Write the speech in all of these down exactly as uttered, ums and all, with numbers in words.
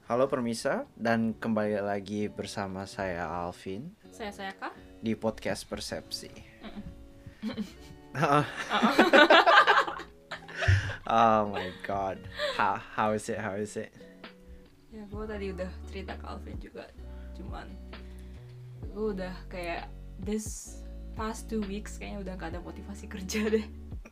Halo Permisa, dan kembali lagi bersama saya Alvin Saya saya kah? di podcast Persepsi. Oh my god, how how is it? How is it? Ya gue tadi udah cerita ke Alvin juga. Cuman gue udah kayak this past two weeks kayaknya udah gak ada motivasi kerja deh.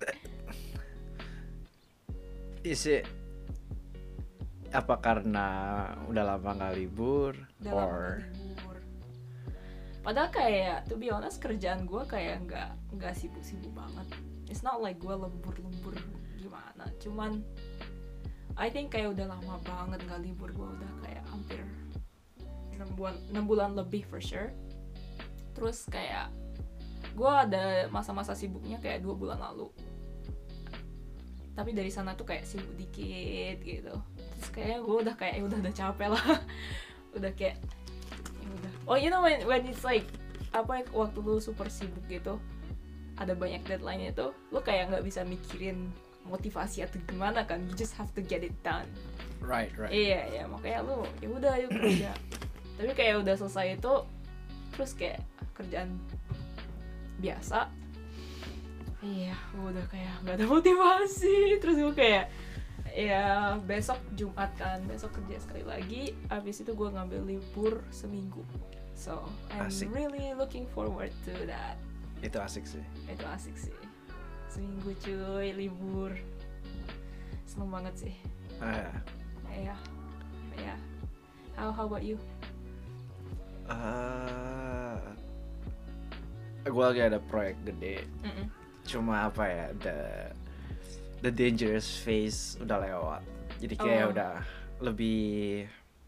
Is it apa karena udah lama nggak libur? Udah lama Or gak libur. Padahal kayak to be honest kerjaan gue kayak nggak nggak sibuk-sibuk banget. It's not like gue lembur-lembur gimana. Cuman I think kayak udah lama banget gak libur. Gue udah kayak hampir enam bulan, enam bulan lebih for sure. Terus kayak gue ada masa-masa sibuknya kayak dua bulan lalu. Tapi dari sana tuh kayak sibuk dikit gitu. Terus kayaknya gue udah kayak ya udah udah capek lah. Udah kayak ya udah. Oh you know when when it's like apa ya, waktu lu super sibuk gitu, ada banyak deadline itu, lu kayak nggak bisa mikirin motivasi atau gimana kan, you just have to get it done. right, right. Iya ya makanya lu ya udah yuk kerja. Tapi kayak udah selesai itu, terus kayak kerjaan biasa. Iya, gue udah kayak gak ada motivasi. Terus gue kayak ya besok Jumat kan, besok kerja sekali lagi. Abis itu gue ngambil libur seminggu. So I'm Asik. really looking forward to that. Itu asik sih. Itu asik sih. Seminggu cuy, libur. Seneng banget sih. Uh, Iya, iya. How how about you? uh, gue lagi ada proyek gede. Mm-mm. Cuma apa ya, the the dangerous phase udah lewat. Jadi kayak Oh. udah lebih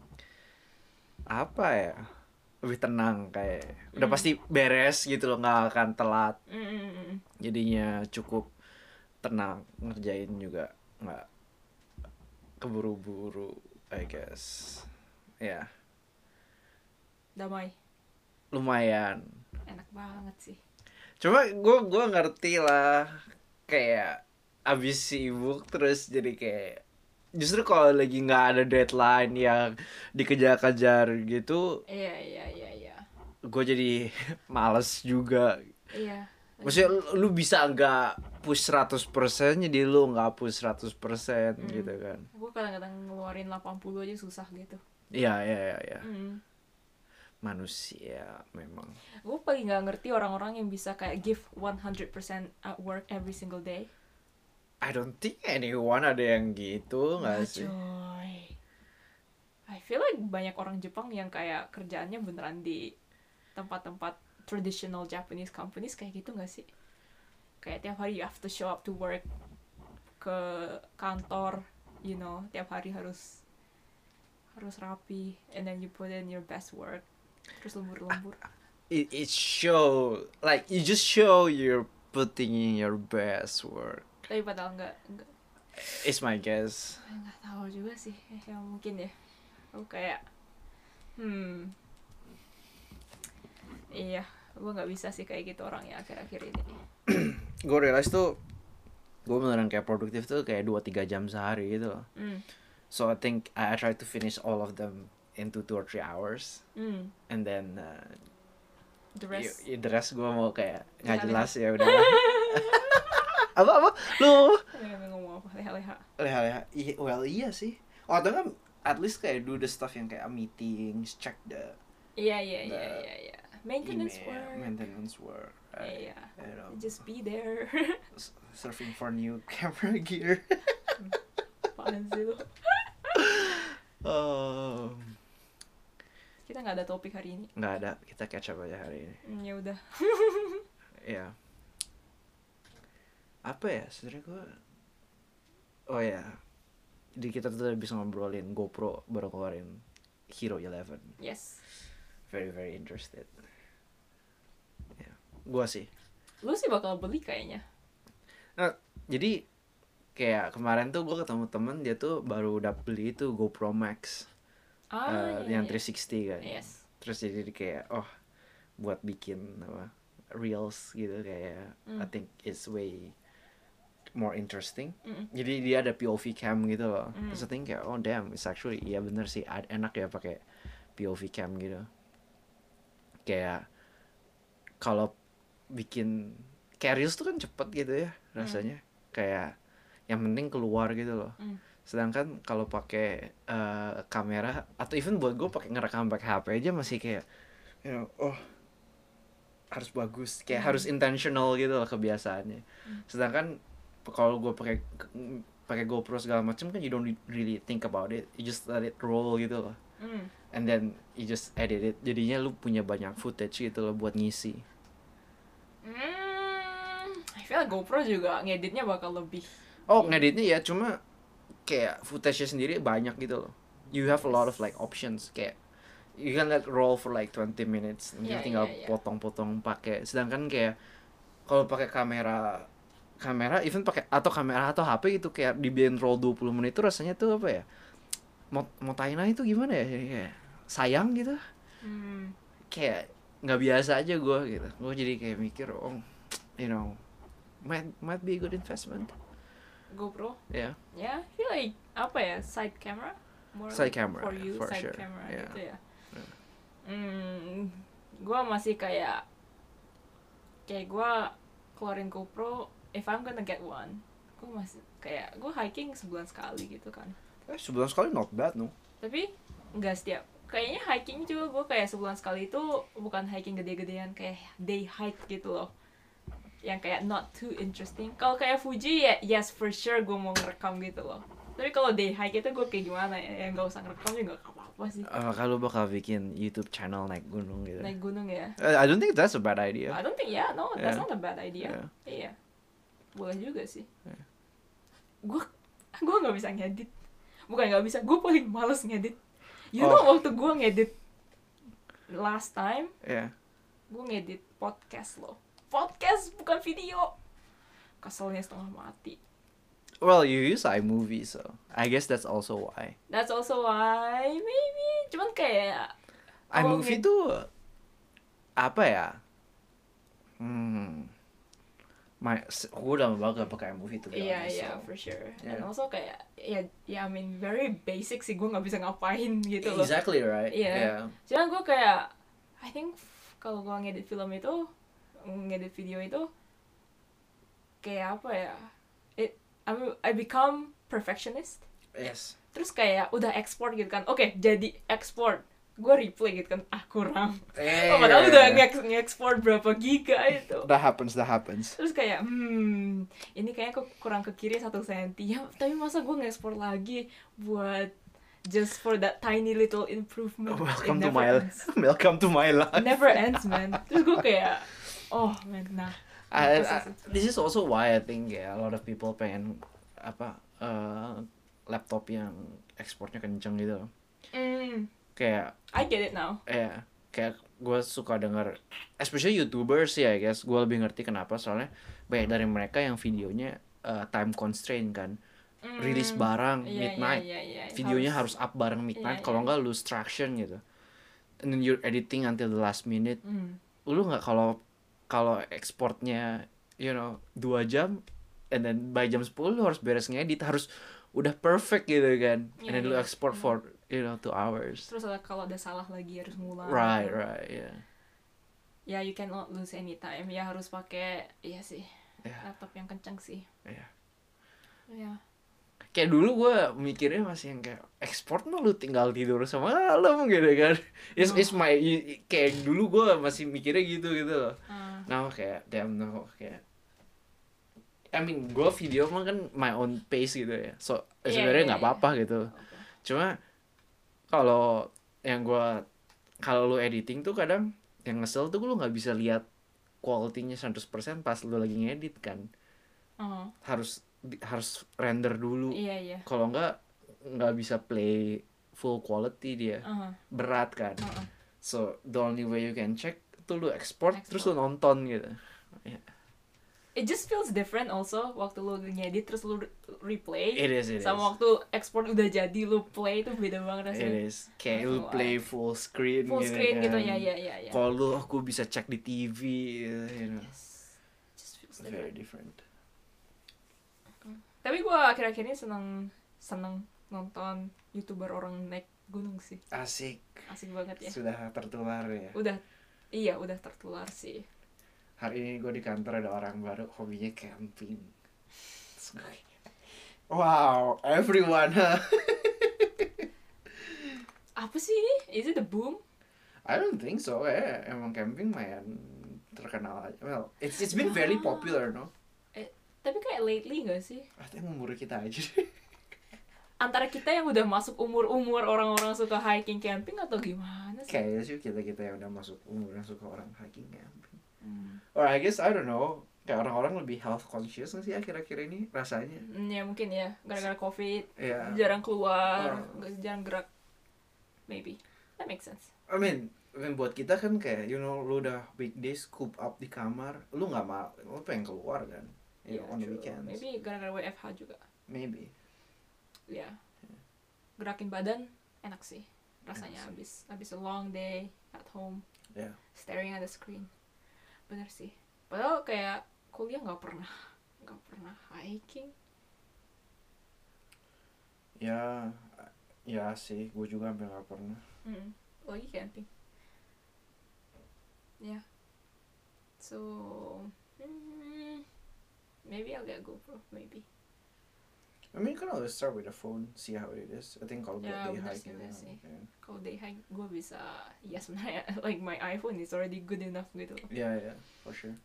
apa ya, lebih tenang, kayak udah Mm. pasti beres gitu loh, nggak akan telat. Mm-mm. Jadinya cukup tenang, ngerjain juga nggak keburu-buru, I guess. Ya Damai, lumayan. enak banget sih. Cuma gue gue ngerti lah, kayak abis sibuk terus jadi kayak justru kalau lagi nggak ada deadline yang dikejar-kejar gitu, Iya iya iya iya. gue jadi males juga. Iya. Maksudnya lu, lu bisa nggak push seratus persen, jadi lu nggak push seratus persen Hmm. gitu kan. Gue kadang-kadang ngeluarin delapan puluh aja susah gitu. Iya iya iya iya. Hmm. Manusia memang. Gue paling nggak ngerti orang-orang yang bisa kayak give one hundred percent at work every single day. I don't think anyone ada yang gitu nggak Nggak, sih? coy. I feel like banyak orang Jepang yang kayak kerjaannya beneran di tempat-tempat traditional Japanese companies kayak gitu nggak sih? Kayak tiap hari you have to show up to work, ke kantor, you know, tiap hari harus harus rapi, and then you put in your best work, terus lembur-lembur. It it show like you just show you're putting in your best work. Tapi padahal nggak nggak It's my guess. nggak tahu juga sih, eh, yang mungkin ya. Aku kayak, hmm, iya, gue nggak bisa sih kayak gitu orangnya akhir-akhir ini. Gue realize tuh gue beneran kayak produktif tuh kayak dua tiga jam sehari gitu loh. Hmm, So I think I, I try to finish all of them into two or three hours, hmm, and then uh, the rest. y- y- the rest gue mau kayak nggak Leha-leha. jelas ya udah. apa apa lu Leha ngomong apa? Leha-leha. leha-leha. I- well iya sih. Oh atau kan at least kayak do the stuff yang kayak meetings, check the Iya iya iya The iya iya. Maintenance email, work. maintenance work. Right? Iya. You know, Just be there. s- surfing for new camera gear. Apaan sih lu? Oh, Kita nggak ada topik hari ini. nggak ada, kita catch up aja hari ini. Hmm, ya udah. Ya. Apa ya sebenarnya gue? Oh ya, jadi kita tuh bisa ngobrolin GoPro baru keluarin Hero eleven. Yes. Very very interested. Ya, gue sih. Lu sih bakal beli kayaknya. Nah, jadi kayak kemarin tuh gue ketemu temen, dia tuh baru udah beli itu GoPro Max, Ah, uh, iya, yang iya. three sixty kan. Yes. Terus jadi kayak oh buat bikin apa reels gitu kayak Hmm. I think it's way more interesting. Mm. Jadi dia ada P O V cam gitu loh. Mm. Terus I think kayak oh damn, it's actually iya bener sih ad- enak ya pakai P O V cam gitu. Kayak kalau bikin kayak reels tuh kan cepet gitu ya rasanya. Kayak yang penting keluar gitu loh. Mm. Sedangkan kalau pakai uh, kamera atau even buat gue pakai ngerekam pakai H P aja masih kayak you know, oh harus bagus, kayak Mm. harus intentional gitu loh kebiasaannya. Mm. Sedangkan kalau gue pakai pakai GoPro segala macam kan you don't really think about it, you just let it roll gitu loh. Mm. And then you just edit it, jadinya lu punya banyak footage gitu loh buat ngisi. Mm. I feel like GoPro juga ngeditnya bakal lebih. Oh ngeditnya ya, cuma kayak footage-nya sendiri banyak gitu loh. You have a lot of like options, kayak you can let roll for like twenty minutes, Yeah, tinggal yeah, yeah. potong-potong pakai. Sedangkan kayak kalau pakai kamera kamera even pakai atau kamera atau H P gitu kayak dibiarin roll dua puluh menit itu rasanya tuh apa ya? Mau mau timeline itu gimana ya? Jadi kayak sayang gitu. Hmm. Kayak nggak biasa aja gue gitu. Gue jadi kayak mikir, oh, you know, might might be a good investment. GoPro. Yeah. Yeah, I feel like apa ya, side camera? More Side like camera, for you, for side sure. camera Yeah. gitu ya. Yeah. Hmm, gua masih kayak kayak gua keluarin GoPro if I'm gonna get one. Gua masih kayak gua hiking sebulan sekali gitu kan. Eh, sebulan sekali not bad no. Tapi nggak setiap. Kayaknya hiking juga gua kayak sebulan sekali itu bukan hiking gede-gedean, kayak day hike gitu loh. Yang kayak not too interesting. Kalau kayak Fuji ya yes for sure gue mau ngerekam gitu loh. Tapi kalau day hike itu gue kayak gimana ya, yang nggak usah ngerekam juga nggak apa-apa sih. Uh, kalau bakal bikin YouTube channel naik gunung gitu. Naik gunung ya. Uh, I don't think that's a bad idea. I don't think yeah, no, that's Yeah. not a bad idea. Yeah. Iya, boleh juga sih. Yeah. Gue gue nggak bisa ngedit. Bukan nggak bisa, gue paling males ngedit. You Oh. know waktu gue ngedit last time, Yeah. gue ngedit podcast loh. Podcast bukan video. Keselnya setengah mati. Well, you use iMovie, so I guess that's also why. That's also why maybe. Cuman kayak kalau iMovie nged- tuh apa ya? Hmm. My, gue udah lama banget gak pakai iMovie tuh. Iya iya for sure. Yeah. And also kayak ya ya I mean very basic sih, gue nggak bisa ngapain gitu loh. Exactly right. Iya. Yeah. Cuman gue kayak I think f- kalau gue ngedit film itu, ngedit video itu kayak apa ya? It I I become perfectionist. Yes. Terus kayak udah export gitu kan. Oke, jadi export. Gue replay gitu kan. Ah, kurang. Eh, Oh, padahal udah nge- nge-export berapa giga itu. That happens, that happens. Terus kayak, hmm, ini kayaknya kok kurang ke kiri satu senti. Ya, tapi masa gue nge-export lagi buat just for that tiny little improvement. Welcome It to never my ends. welcome to my life. Never ends, man. Terus gue kayak, oh, man, nah. I, Terus- I, this is also why I think ya a lot of people pengen apa uh, laptop yang ekspornya kenceng gitu. Mm, Kayak I get it now. ya kayak gue suka denger, especially YouTubers sih I guess, gue lebih ngerti kenapa, soalnya banyak dari mereka yang videonya uh, time constraint kan, Mm, rilis barang iya, midnight, iya, iya, iya. videonya harus, up bareng midnight, Iya, kalau iya. nggak lose traction gitu, and then you're editing until the last minute. Mm. Lu nggak kalau kalau ekspornya you know dua jam, and then by jam sepuluh lu harus beres ngedit, harus udah perfect gitu kan, and Iya, then lu iya. export for you know two hours. Terus ada, kalau ada salah lagi harus ngulang. Right, gitu. right, yeah. Ya, you cannot lose any time. Ya harus pakai, iya sih, Yeah. laptop yang kencang sih. Iya. Ya. Kayak dulu gue mikirnya masih yang kayak ekspor mah lu tinggal tidur semalam gitu kan. It's, it's my, kayak dulu gue masih mikirnya gitu gitu loh. Ah. Now kayak damn no, kayak I mean gue video mah kan my own pace gitu ya. So Iya, sebenarnya iya, nggak iya. apa-apa gitu. Oke. Cuma kalau yang gue kalau lu editing tuh kadang yang ngesel tuh lu nggak bisa lihat quality-nya seratus persen pas lu lagi ngedit kan. Oh, Harus di- harus render dulu. iya iya. Kalau nggak nggak bisa play full quality dia, Uh-huh. berat kan. Uh-uh. So the only way you can check tuh lu export, Export. terus lu nonton gitu. It just feels different also waktu lu ngedit terus lu re- replay. It is, it sama is. waktu ekspor udah jadi lu play itu beda banget It rasanya. is. Kayak That's lu why. play full screen Full gitu screen kan. gitu ya ya ya ya. Kalau lu aku bisa cek di T V, you know. Yes. Just feels Very different. different. Tapi gue akhir-akhir ini seneng seneng nonton youtuber orang naik gunung sih. Asik. Asik banget ya. Sudah tertular ya. Udah, iya udah tertular sih. Hari ini gue di kantor ada orang baru hobinya camping. Wow, everyone, huh? Apa sih ini? Is it a boom? I don't think so. Eh, emang camping main terkenal aja. Well, it's it's been very popular, no? Eh, tapi kayak lately gak sih? Ah, itu emang umur kita aja. Antara kita yang udah masuk umur-umur orang-orang suka hiking camping atau gimana sih? Kayaknya sih kita kita yang udah masuk umur yang suka orang hiking camping. Hmm. Or I guess I don't know. Kayak orang-orang lebih health conscious nggak sih akhir-akhir ini rasanya. Hmm, ya mungkin ya, gara-gara covid, Yeah. jarang keluar, Oh. jarang gerak. Maybe. That makes sense. I mean, I mean, buat kita kan kayak you know lu udah weekdays coop up di kamar, lu nggak mau, lu pengen keluar kan? You know, on the true. weekends. Maybe gara-gara W F H juga. Maybe. Ya. Gerakin badan enak sih. Rasanya Enak habis habis a long day at home. Yeah. Staring at the screen. Bener sih. Padahal kayak kuliah nggak pernah nggak pernah hiking. Ya, ya sih, gue juga hampir nggak pernah. Mm. Lagi camping. Ya. Yeah. So, mm, maybe I'll get GoPro. Maybe. I mean, you can always start with a phone, see how it is. I think kalau buat Ya, day bener hike sih, gitu. bener sih. Yeah. Kalau day hike gue bisa. Ya sebenarnya like my iPhone is already good enough gitu loh. Yeah, yeah, for sure.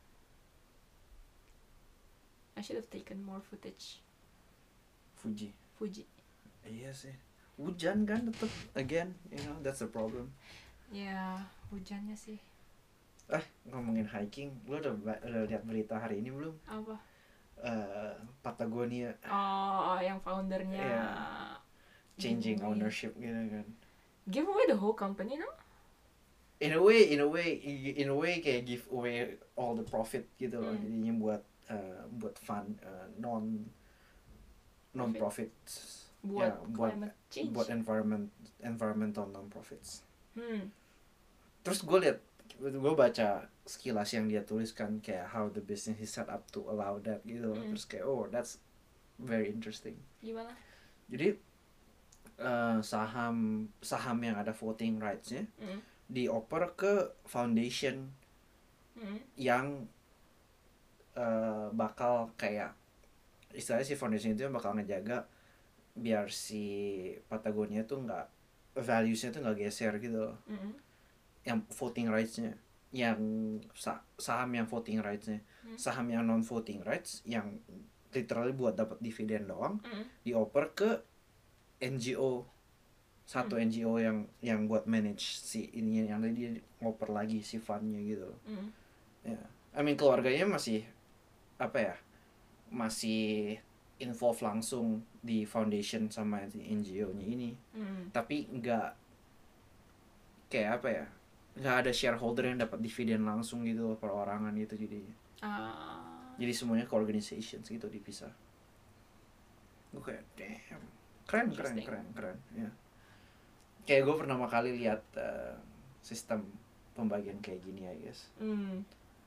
I should have taken more footage. Fuji. Fuji. Iya sih. Hujan kan tetap again, you know, that's the problem. Ya, hujannya sih. Ah, ngomongin hiking, lu udah, udah lihat berita hari ini belum? Apa? Uh, Patagonia Oh, yang foundernya Yeah. changing giveaway. ownership gitu kan. Give away the whole company, no? In a way, in a way, in a way kayak give away all the profit gitu loh. Hmm. Jadinya buat uh, buat fund uh, non non profit. Buat Ya, buat climate change. buat environment environmental non profits. Hmm. Terus gue liat, gue baca sekilas yang dia tuliskan kayak how the business is set up to allow that gitu. Mm. Terus kayak oh that's very interesting. Gimana? Jadi uh, saham saham yang ada voting rights-nya Hmm. dioper ke foundation Hmm. yang uh, bakal kayak istilahnya si foundation itu yang bakal ngejaga biar si Patagonia tuh nggak values-nya tuh nggak geser gitu. Hmm. Yang voting rights-nya, yang sa- saham yang voting rights-nya, Hmm. saham yang non voting rights yang literally buat dapat dividen doang Hmm. dioper ke N G O, satu Hmm. N G O yang yang buat manage si ini yang tadi dia ngoper lagi si fundnya gitu. Hmm. Ya, I mean keluarganya masih apa ya, masih involve langsung di foundation sama si N G O-nya ini, Hmm. tapi nggak kayak apa ya, nggak ada shareholder yang dapat dividen langsung gitu perorangan gitu jadinya. Ah. Jadi semuanya ke organizations gitu dipisah. Gue kayak damn, keren keren Interesting. keren keren ya. Kayak gue pertama kali lihat uh, sistem pembagian kayak gini I guess. Hmm.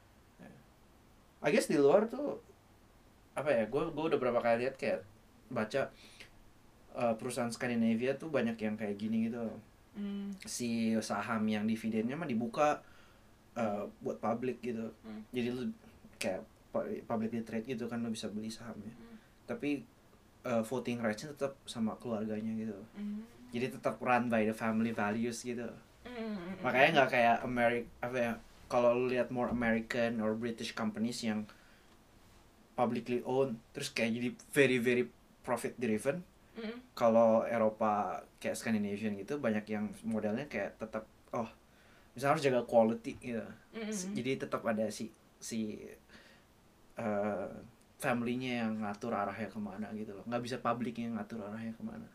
I guess di luar tuh apa ya, gue gue udah berapa kali lihat kayak baca uh, perusahaan Skandinavia tuh banyak yang kayak gini gitu. Hmm. Si saham yang dividennya mah dibuka uh, buat publik gitu. Hmm. Jadi lu kayak pu- publicly trade gitu kan, lu bisa beli sahamnya. Hmm. Tapi uh, voting rights-nya tetap sama keluarganya gitu. Hmm. Jadi tetap run by the family values gitu. Hmm. Makanya nggak kayak Amerika apa ya, kalau lu lihat more American or British companies yang publicly owned terus kayak jadi very very profit driven. Hmm. Kalau Eropa kayak Scandinavian gitu banyak yang modelnya kayak tetap oh misalnya harus jaga quality gitu. Hmm. Jadi tetap ada si si uh, family-nya yang ngatur arahnya kemana gitu loh. Nggak bisa public yang ngatur arahnya kemana.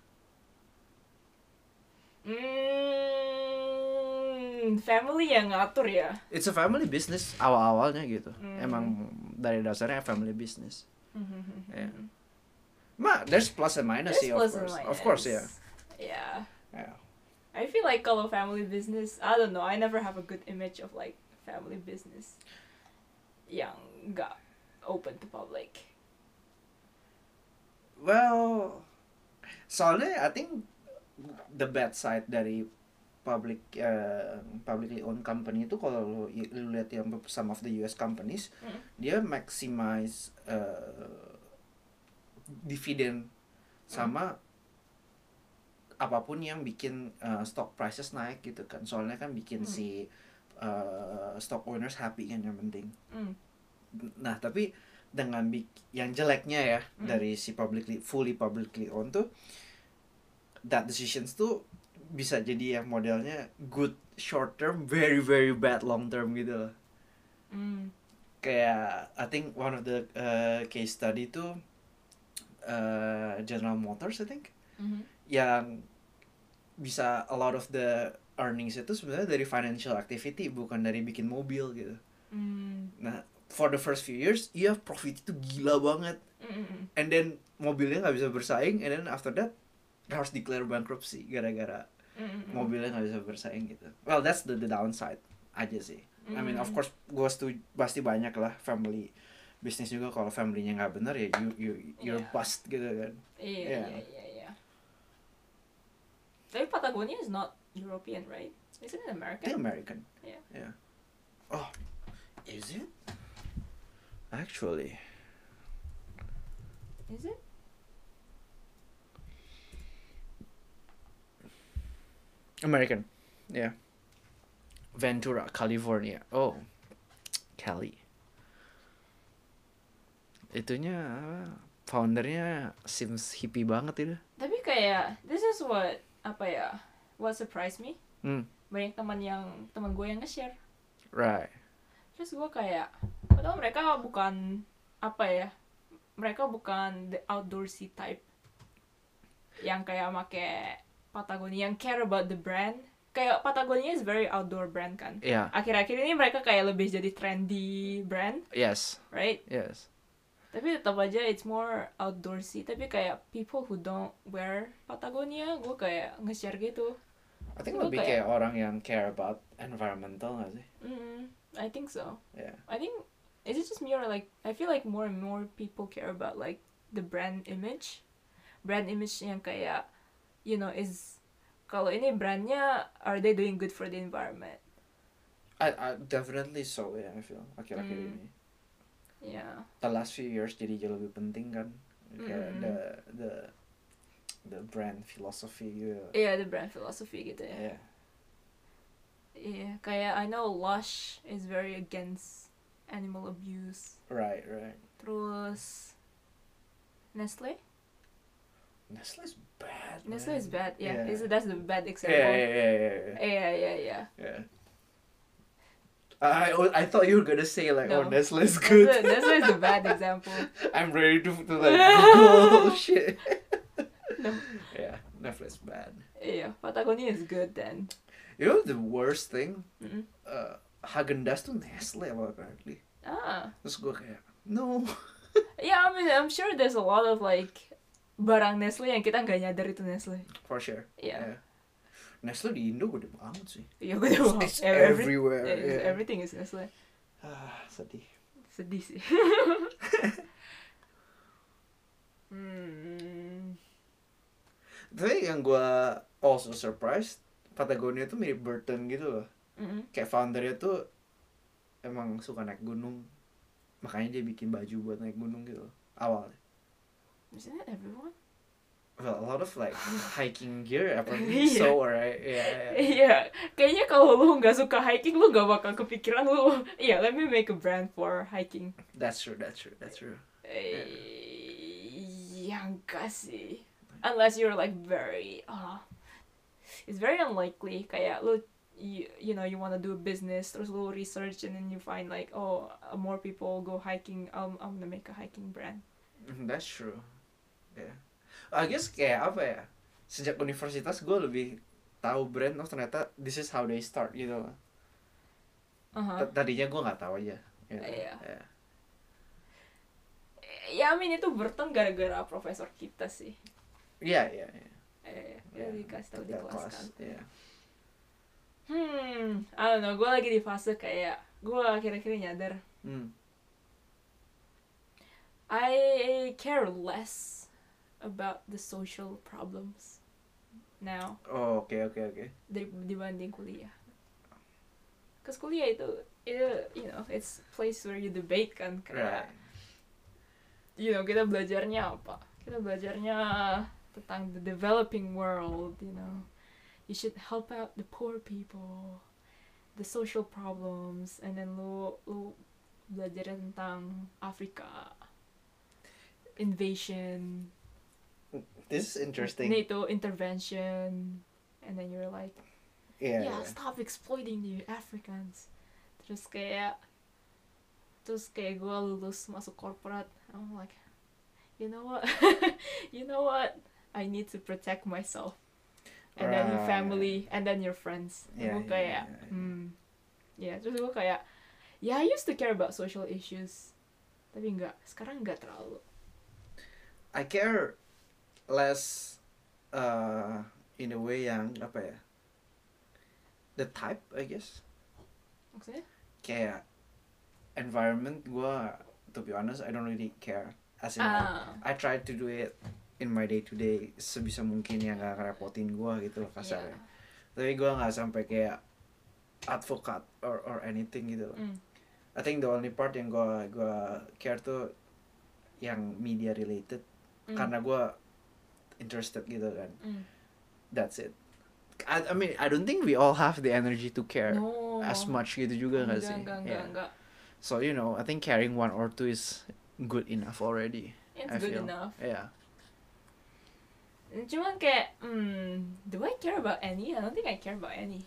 Hmm. Family yang ngatur ya. It's a family business awal-awalnya gitu. Hmm. Emang dari dasarnya family business. Hmm. Yeah. Ma, there's plus and minus There's sih, of plus and course. minus. Of course, yeah. Yeah. Yeah. I feel like kalau family business, I don't know, I never have a good image of like family business yang nggak open to public. Well, soalnya I think the bad side dari public uh, publicly owned company itu kalau lu, lu lihat yang some of the U S companies, Mm. dia maximize uh, dividen sama apapun yang bikin uh, stock prices naik gitu kan. Soalnya kan bikin Mm. si uh, stock owners happy kan yang penting. Mm. Nah, tapi dengan bik- yang jeleknya ya Mm. dari si publicly fully publicly owned tuh, that decisions tuh bisa jadi yang modelnya good short term, very very bad long term gitu loh. Mm. Kayak I think one of the uh, case study tuh uh, General Motors I think, Mhm. yang bisa a lot of the earnings itu sebenarnya dari financial activity, bukan dari bikin mobil gitu. Mm. Nah, for the first few years iya profit itu gila banget, Mm-mm. and then mobilnya nggak bisa bersaing, and then after that harus declare bankruptcy gara-gara Mm-mm. mobilnya nggak bisa bersaing gitu. Well, that's the, the downside aja sih. I mean, of Mm. course, gue setuju, pasti banyak lah family bisnis juga kalau familynya nggak benar ya you you you're Yeah. bust gitu kan. Iya, Yeah. iya, iya, iya. Tapi Patagonia is not European, right? Isn't it I American? think American. Yeah. Yeah. Oh, is it? Actually, Is it? American. Yeah. Ventura, California. Oh, Cali. Itunya apa, foundernya seems hippie banget itu. Tapi kayak this is what apa ya? What surprised me? Hmm. Banyak teman yang teman gue yang nge-share. Right. Terus gue kayak, padahal mereka bukan apa ya? Mereka bukan the outdoorsy type yang kayak make Patagonia, yang care about the brand. Kayak Patagonia is very outdoor brand kan. Yeah. Akhir-akhir ini mereka kayak lebih jadi trendy brand, Yes. right? Yes. Tapi tetap aja it's more outdoorsy. Tapi kayak people who don't wear Patagonia, gue kayak nge-share gitu. I think Gue lebih kayak- kayak orang yang care about environmental nggak sih? Mm, I think so. Yeah. I think is it just me or like I feel like more and more people care about like the brand image, brand image yang kayak you know is kalau ini brandnya are they doing good for the environment? I, I definitely so ya, I feel akhir-akhir Hmm. ini. Yeah. The last few years jadi jauh lebih penting kan, kayak Mm. the the the brand philosophy gitu. Iya, the brand philosophy gitu ya. Yeah. Iya, kayak I know Lush is very against animal abuse. Right, right. Terus Nestle? Nestle's bad. Nestle man. is bad. Yeah, Yeah. is that's the bad Yeah, example. yeah, yeah, yeah, yeah. Yeah, yeah, yeah. yeah. I I thought you were gonna say like, oh, No. Nestle's good. Nestle, Nestle is the bad example. I'm ready to, to like Google shit. No. Yeah, Nestle's bad. Iya, Patagonia is good then. You know the worst thing? Mm-mm. Uh, Haagen-Dazs tuh Nestle loh apparently. Ah, Terus gue kayak, no. yeah, I mean, I'm sure there's a lot of like barang Nestle yang kita nggak nyadar itu Nestle. For sure. Iya. Nestle di Indo gede banget sih. Iya, gue tahu. It's Every- everywhere. yeah, it's- yeah. Everything is Nestle. Ah, sedih. Sedih sih. hmm. Tapi yang gue also surprised, Patagonia tuh mirip Burton gitu loh. Mm-mm. Kayak foundernya tuh emang suka naik gunung. Makanya dia bikin baju buat naik gunung gitu loh, awalnya. Isn't that everyone? Well, a lot of like hiking gear apparently Iya. so, right? Yeah, yeah. Iya, kayaknya kalau lu nggak suka hiking, lu nggak bakal kepikiran lu. Iya, let me make a brand for hiking. That's true, that's true, that's true. Eh, ya enggak sih. Unless you're like very, uh, it's very unlikely. Kayak lu, you, you know, you wanna do a business, terus lu research and then you find like, oh, uh, more people go hiking. I'm, I'm gonna make a hiking brand. Mhm, that's true. Yeah. I guess kayak apa ya? Sejak universitas gue lebih tahu brand, oh ternyata this is how they start gitu loh. Uh-huh. T- Tadinya gue nggak tahu aja. Gitu. Iya. Yeah. Ya, I mean itu Burton gara-gara profesor kita sih. Iya, iya, iya. Eh, Yeah. yeah. dikasih tahu di That kelas kan. Iya. Hmm, I don't know. Gue lagi di fase kayak gue akhir-akhir ini nyadar. Hmm. I care less about the social problems now Oh, oke oke oke. dari dibanding kuliah. Cause kuliah itu itu you know it's place where you debate kan kayak Right. you know kita belajarnya apa? Kita belajarnya tentang the developing world, you know. You should help out the poor people, the social problems, and then lu lu belajar tentang Afrika, invasion, This is interesting. NATO intervention, and then you're like, Iya. yeah, iya. stop exploiting the Africans. Terus kayak, terus kayak gue lulus masuk korporat, I'm like, you know what, you know what, I need to protect myself, and then your Right. family, and then your friends. Yeah, Gue yeah, kayak, yeah, yeah. hmm, ya terus gue kayak, yeah, I used to care about social issues, tapi enggak, sekarang enggak terlalu. I care less uh, in a way yang apa ya? The type, I guess. Maksudnya? Kayak environment gua, to be honest, I don't really care. As in, like, Ah, I try to do it in my day to day sebisa mungkin yang gak ngerepotin gua gitu loh kasarnya. yeah. Tapi gua nggak sampai kayak advokat or or anything gitu loh. Mm. I think the only part yang gua gua care tuh yang media related Mm. karena gua interested gitu kan. Mm. That's it. I, I mean I don't think we all have the energy to care No. as much gitu juga nggak Enggak, sih? enggak, enggak, Yeah. enggak. So you know I think caring one or two is good enough already. It's I good feel. enough. Yeah. Cuman kayak, hmm, do I care about any? I don't think I care about any.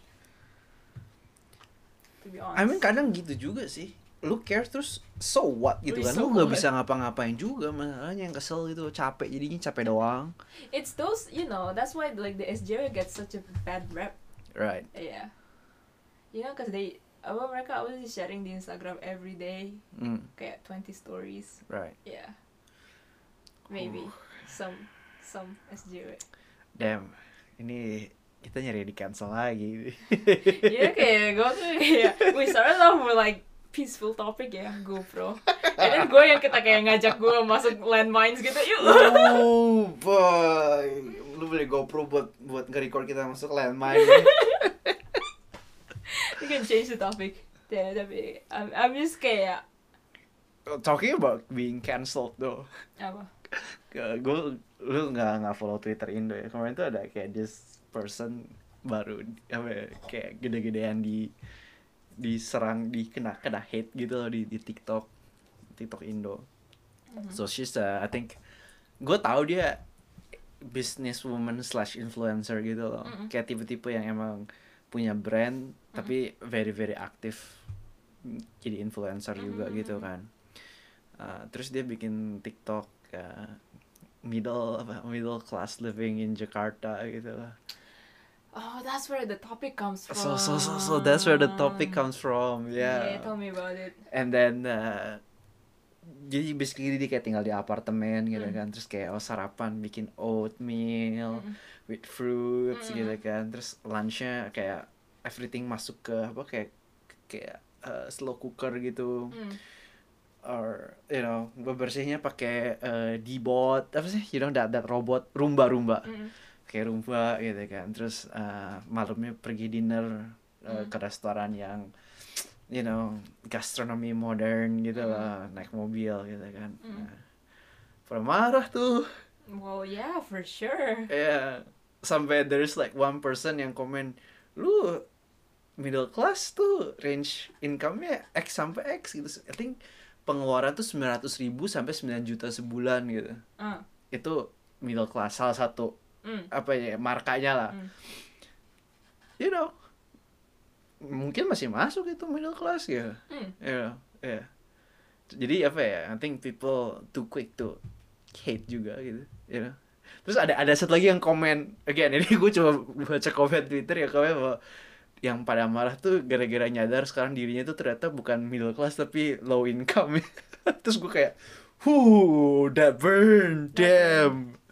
To be honest. I mean kadang gitu juga sih. Lu care terus so what gitu Wih, kan. so Lu nggak what? bisa ngapa-ngapain juga masalahnya yang kesel gitu, capek jadinya capek doang. It's those, you know, that's why like the S J W gets such a bad rep. Right. Yeah. You know, cause they, apa mereka always sharing di Instagram every day, Mm, kayak twenty stories. right. Yeah. Maybe some some S J W. Damn. Ini kita nyari di cancel lagi. Iya kayak gue tuh kayak we started off with like peaceful topic ya GoPro, and then gue yang kita kayak ngajak gue masuk landmines gitu yuk. Oh boy, lu beli GoPro buat buat nge-record kita masuk landmine. We can change the topic. Ya tapi I'm, I'm just kayak Talking about being cancelled though, apa? gue lu nggak nggak follow Twitter Indo ya. Kemarin tuh ada kayak this person baru apa ya, kayak gede-gedean di diserang di kena kena hate gitu loh di di TikTok TikTok Indo. Mhm. So she's uh, I think gue tahu dia businesswoman slash influencer gitu loh. Mm-mm. Kayak tipe-tipe yang emang punya brand tapi very very aktif jadi influencer juga Mm-mm. gitu kan. Uh, terus dia bikin TikTok uh, middle apa middle class living in Jakarta gitu loh. Oh, that's where the topic comes from. So so so so that's where the topic comes from. Yeah, Yeah. tell me about it. And then uh, jadi basically dia kayak tinggal di apartemen gitu Mm. kan. Terus kayak oh sarapan bikin oatmeal Mm-mm. with fruits Mm-mm. gitu kan. Terus lunchnya kayak everything masuk ke apa kayak kayak uh, slow cooker gitu. Mm. Or you know bebersihnya pakai uh, D-bot apa sih? You know that that robot Roomba Roomba. Mm-mm. Kayak Roomba gitu kan. Terus uh, malamnya pergi dinner uh, Mm. ke restoran yang you know gastronomi modern gitu Mm. lah, naik mobil gitu kan. Mm. Nah, pada marah tuh. Well, yeah, for sure. Ya, sampai there's like one person yang komen, lu middle class tuh range income-nya X sampai X gitu. I think pengeluaran tuh sembilan ratus ribu sampai sembilan juta sebulan gitu. Ah. Itu middle class, salah satu Mm. apa ya markanya lah. Mm. You know, mungkin masih masuk itu middle class ya. Mm. You know, yeah. Jadi apa ya? I think people too quick to hate juga gitu. You know. Terus ada ada satu lagi yang komen, again ini gue coba baca komen Twitter ya, komen bahwa yang pada marah tuh gara-gara nyadar sekarang dirinya tuh ternyata bukan middle class tapi low income. Terus gue kayak, whoo, that burn, damn.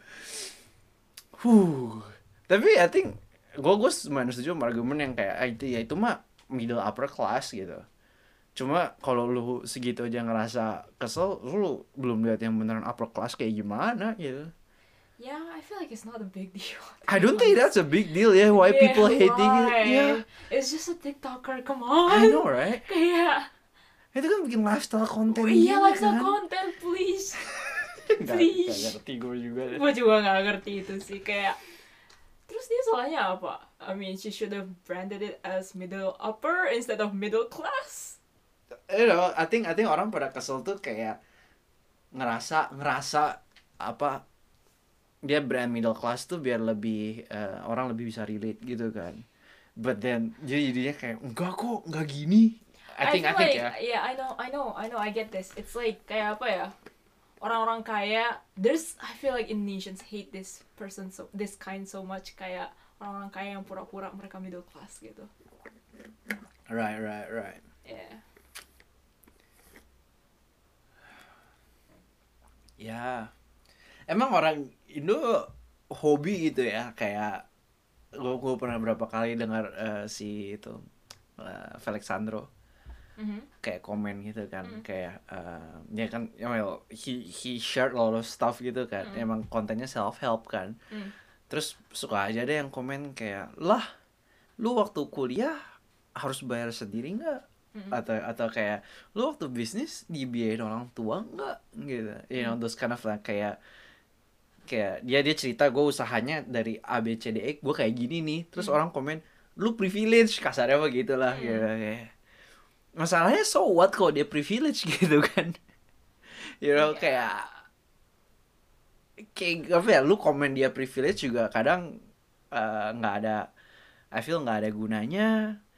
Huh. Tapi I think gue gue semuanya setuju sama argumen yang kayak ah, itu ya itu mah middle upper class gitu. Cuma kalau lu segitu aja ngerasa kesel, lu belum lihat yang beneran upper class kayak gimana gitu. Yeah, I feel like it's not a big deal. I don't think that's a big deal. Yeah, why Yeah, people hating it? why? Yeah, It's just a TikToker, come on. I know, right? Kayak, Itu kan bikin lifestyle konten iya gitu lifestyle kan. content, please. Nggak- Please. nggak ngerti gue juga deh. Gue juga gak ngerti itu sih, kayak. Terus dia salahnya apa? I mean, she should have branded it as middle upper instead of middle class. You know, I think I think orang pada kesel tuh kayak ngerasa ngerasa apa dia brand middle class tuh biar lebih eh, orang lebih bisa relate gitu kan. But then jadi jadinya kayak enggak kok, enggak gini. I think I, feel think like, ya. yeah, I know, I know, I know, I get this. It's like kayak apa ya? Orang-orang kaya, there's, I feel like Indonesians hate this person so, this kind so much, kayak orang-orang kaya yang pura-pura mereka middle class gitu. Right, right, right. Yeah. Ya. Emang orang Indo hobi gitu ya, kayak gue gue pernah berapa kali dengar eh, si itu eh, Felix Sandro Mhm. kayak komen gitu kan, Mm. kayak eh, dia kan ya well, he he shared a lot of stuff gitu kan, Mm. emang kontennya self help kan, Mm. terus suka aja deh yang komen kayak lah lu waktu kuliah harus bayar sendiri nggak, Mm. atau atau kayak lu waktu bisnis dibiayain orang tua nggak gitu, you know, those kind of like, kayak kayak dia dia cerita gue usahanya dari A B C D E gue kayak gini nih, terus Mm. orang komen lu privilege kasarnya apa gitu lah, Mm. gitu kayak masalahnya so what kalau dia privilege gitu kan. You know, Yeah. kayak kayak apa ya, lu komen dia privilege juga kadang eh, nggak ada, I feel nggak ada gunanya.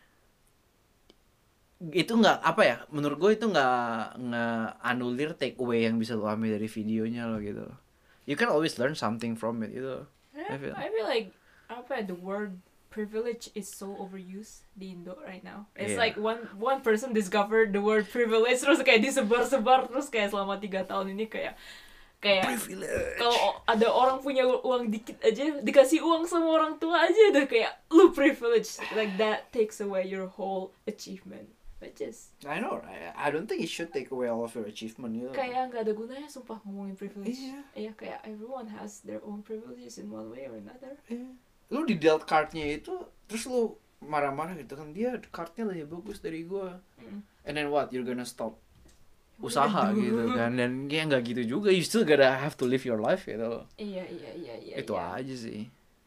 Itu nggak apa ya, menurut gue itu nggak nggak anulir take away yang bisa lu ambil dari videonya lo gitu. You can always learn something from it gitu. Yeah, I feel. I feel like apa ya, the word privilege is so overused di Indo right now. It's Yeah. like one one person discovered the word privilege terus kayak disebar-sebar terus kayak selama tiga tahun ini kayak kayak Privilege. kalau ada orang punya uang dikit aja dikasih uang sama orang tua aja udah kayak lu privilege, like that takes away your whole achievement, which is I know, right? I don't think it should take away all of your achievement gitu. kayak nggak ada gunanya sumpah ngomongin privilege. Iya. Iya, kayak everyone has their own privileges in one way or another. Iya. Lu di dealt cardnya itu terus lu marah-marah gitu kan, dia cardnya lebih bagus dari gua. Mm. And then what? You're gonna stop What usaha do I do? gitu kan, dan ya nggak gitu juga, you still gotta have to live your life gitu. Iya iya iya iya. Itu iya. aja sih.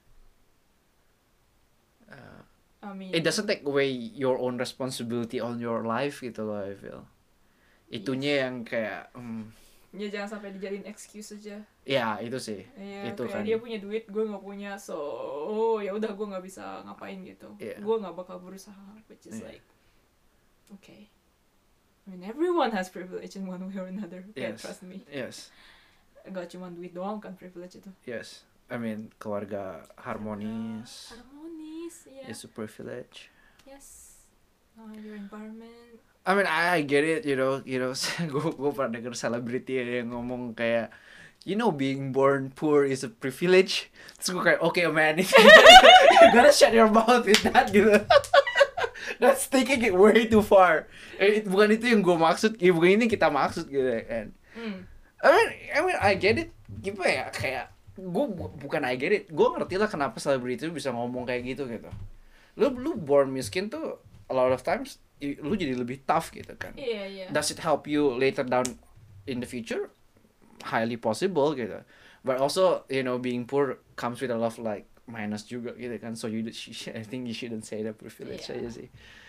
Uh, I mean, it doesn't take away your own responsibility on your life gitu loh, I feel. Itunya yang kayak hmm, ya jangan sampai dijadiin excuse aja. ya itu sih. Iya, Itu kayak kan. dia punya duit, gue nggak punya, so oh, ya udah gue nggak bisa ngapain gitu. Iya. Gue nggak bakal berusaha, which is Iya. like, okay. I mean, everyone has privilege in one way or another. Yes. Kayak, trust me. Yes. Gak cuma duit doang kan privilege itu. Yes. I mean, keluarga harmonis Harmonis, ya. is a privilege. Yes. Uh, your environment. I mean, I, I get it, you know, you know, gue gue pernah denger selebriti yang ngomong kayak, you know, being born poor is a privilege. Terus gue kayak, okay man, you gotta shut your mouth with that gitu. That's taking it way too far. Eh, it- bukan itu yang gue maksud, ya, bukan ini yang kita maksud gitu kan. Hmm. I mean, I mean, I get it. Gimana ya, kayak gue bukan I get it. Gue ngerti lah kenapa selebriti itu bisa ngomong kayak gitu gitu. Lu lu born miskin tuh a lot of times i- lu jadi lebih tough gitu kan. Iya, iya. Does it help you later down in the future? Highly possible gitu. But also, you know, being poor comes with a lot of like minus juga gitu kan. So you, I think you shouldn't say that privilege Yeah. aja sih.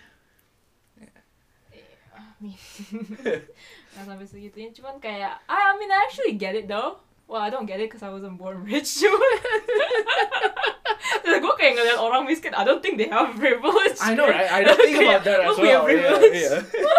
I mean, nggak sampai segitunya, cuman kayak I mean I actually get it though. Well, I don't get it because I wasn't born rich. Cuman gue kayak ngeliat orang miskin, I don't think they have privilege. I know, right? I don't think about that as Lu punya well. Yeah, privilege. yeah.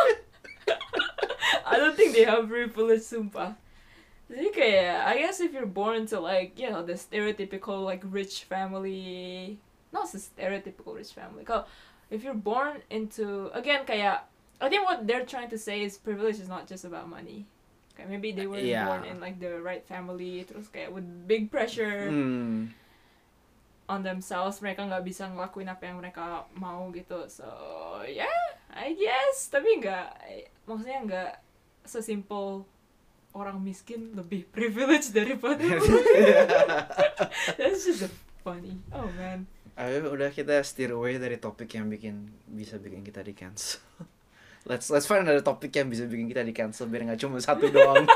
I don't think they have privilege, sumpah. Jadi kayak, I guess if you're born to like, you know, the stereotypical like rich family, not the stereotypical rich family. Kalau if you're born into, again kayak, I think what they're trying to say is privilege is not just about money. Kayak maybe they were Yeah. born in like the right family, terus kayak with big pressure Hmm. on themselves, mereka nggak bisa ngelakuin apa yang mereka mau gitu. So yeah, I guess. Tapi nggak, maksudnya nggak sesimpel orang miskin lebih privilege daripada that's just funny. Oh man. Ayo udah kita steer away dari topik yang bikin bisa bikin kita di cancel. Let's let's find another topik yang bisa bikin kita di cancel biar nggak cuma satu doang.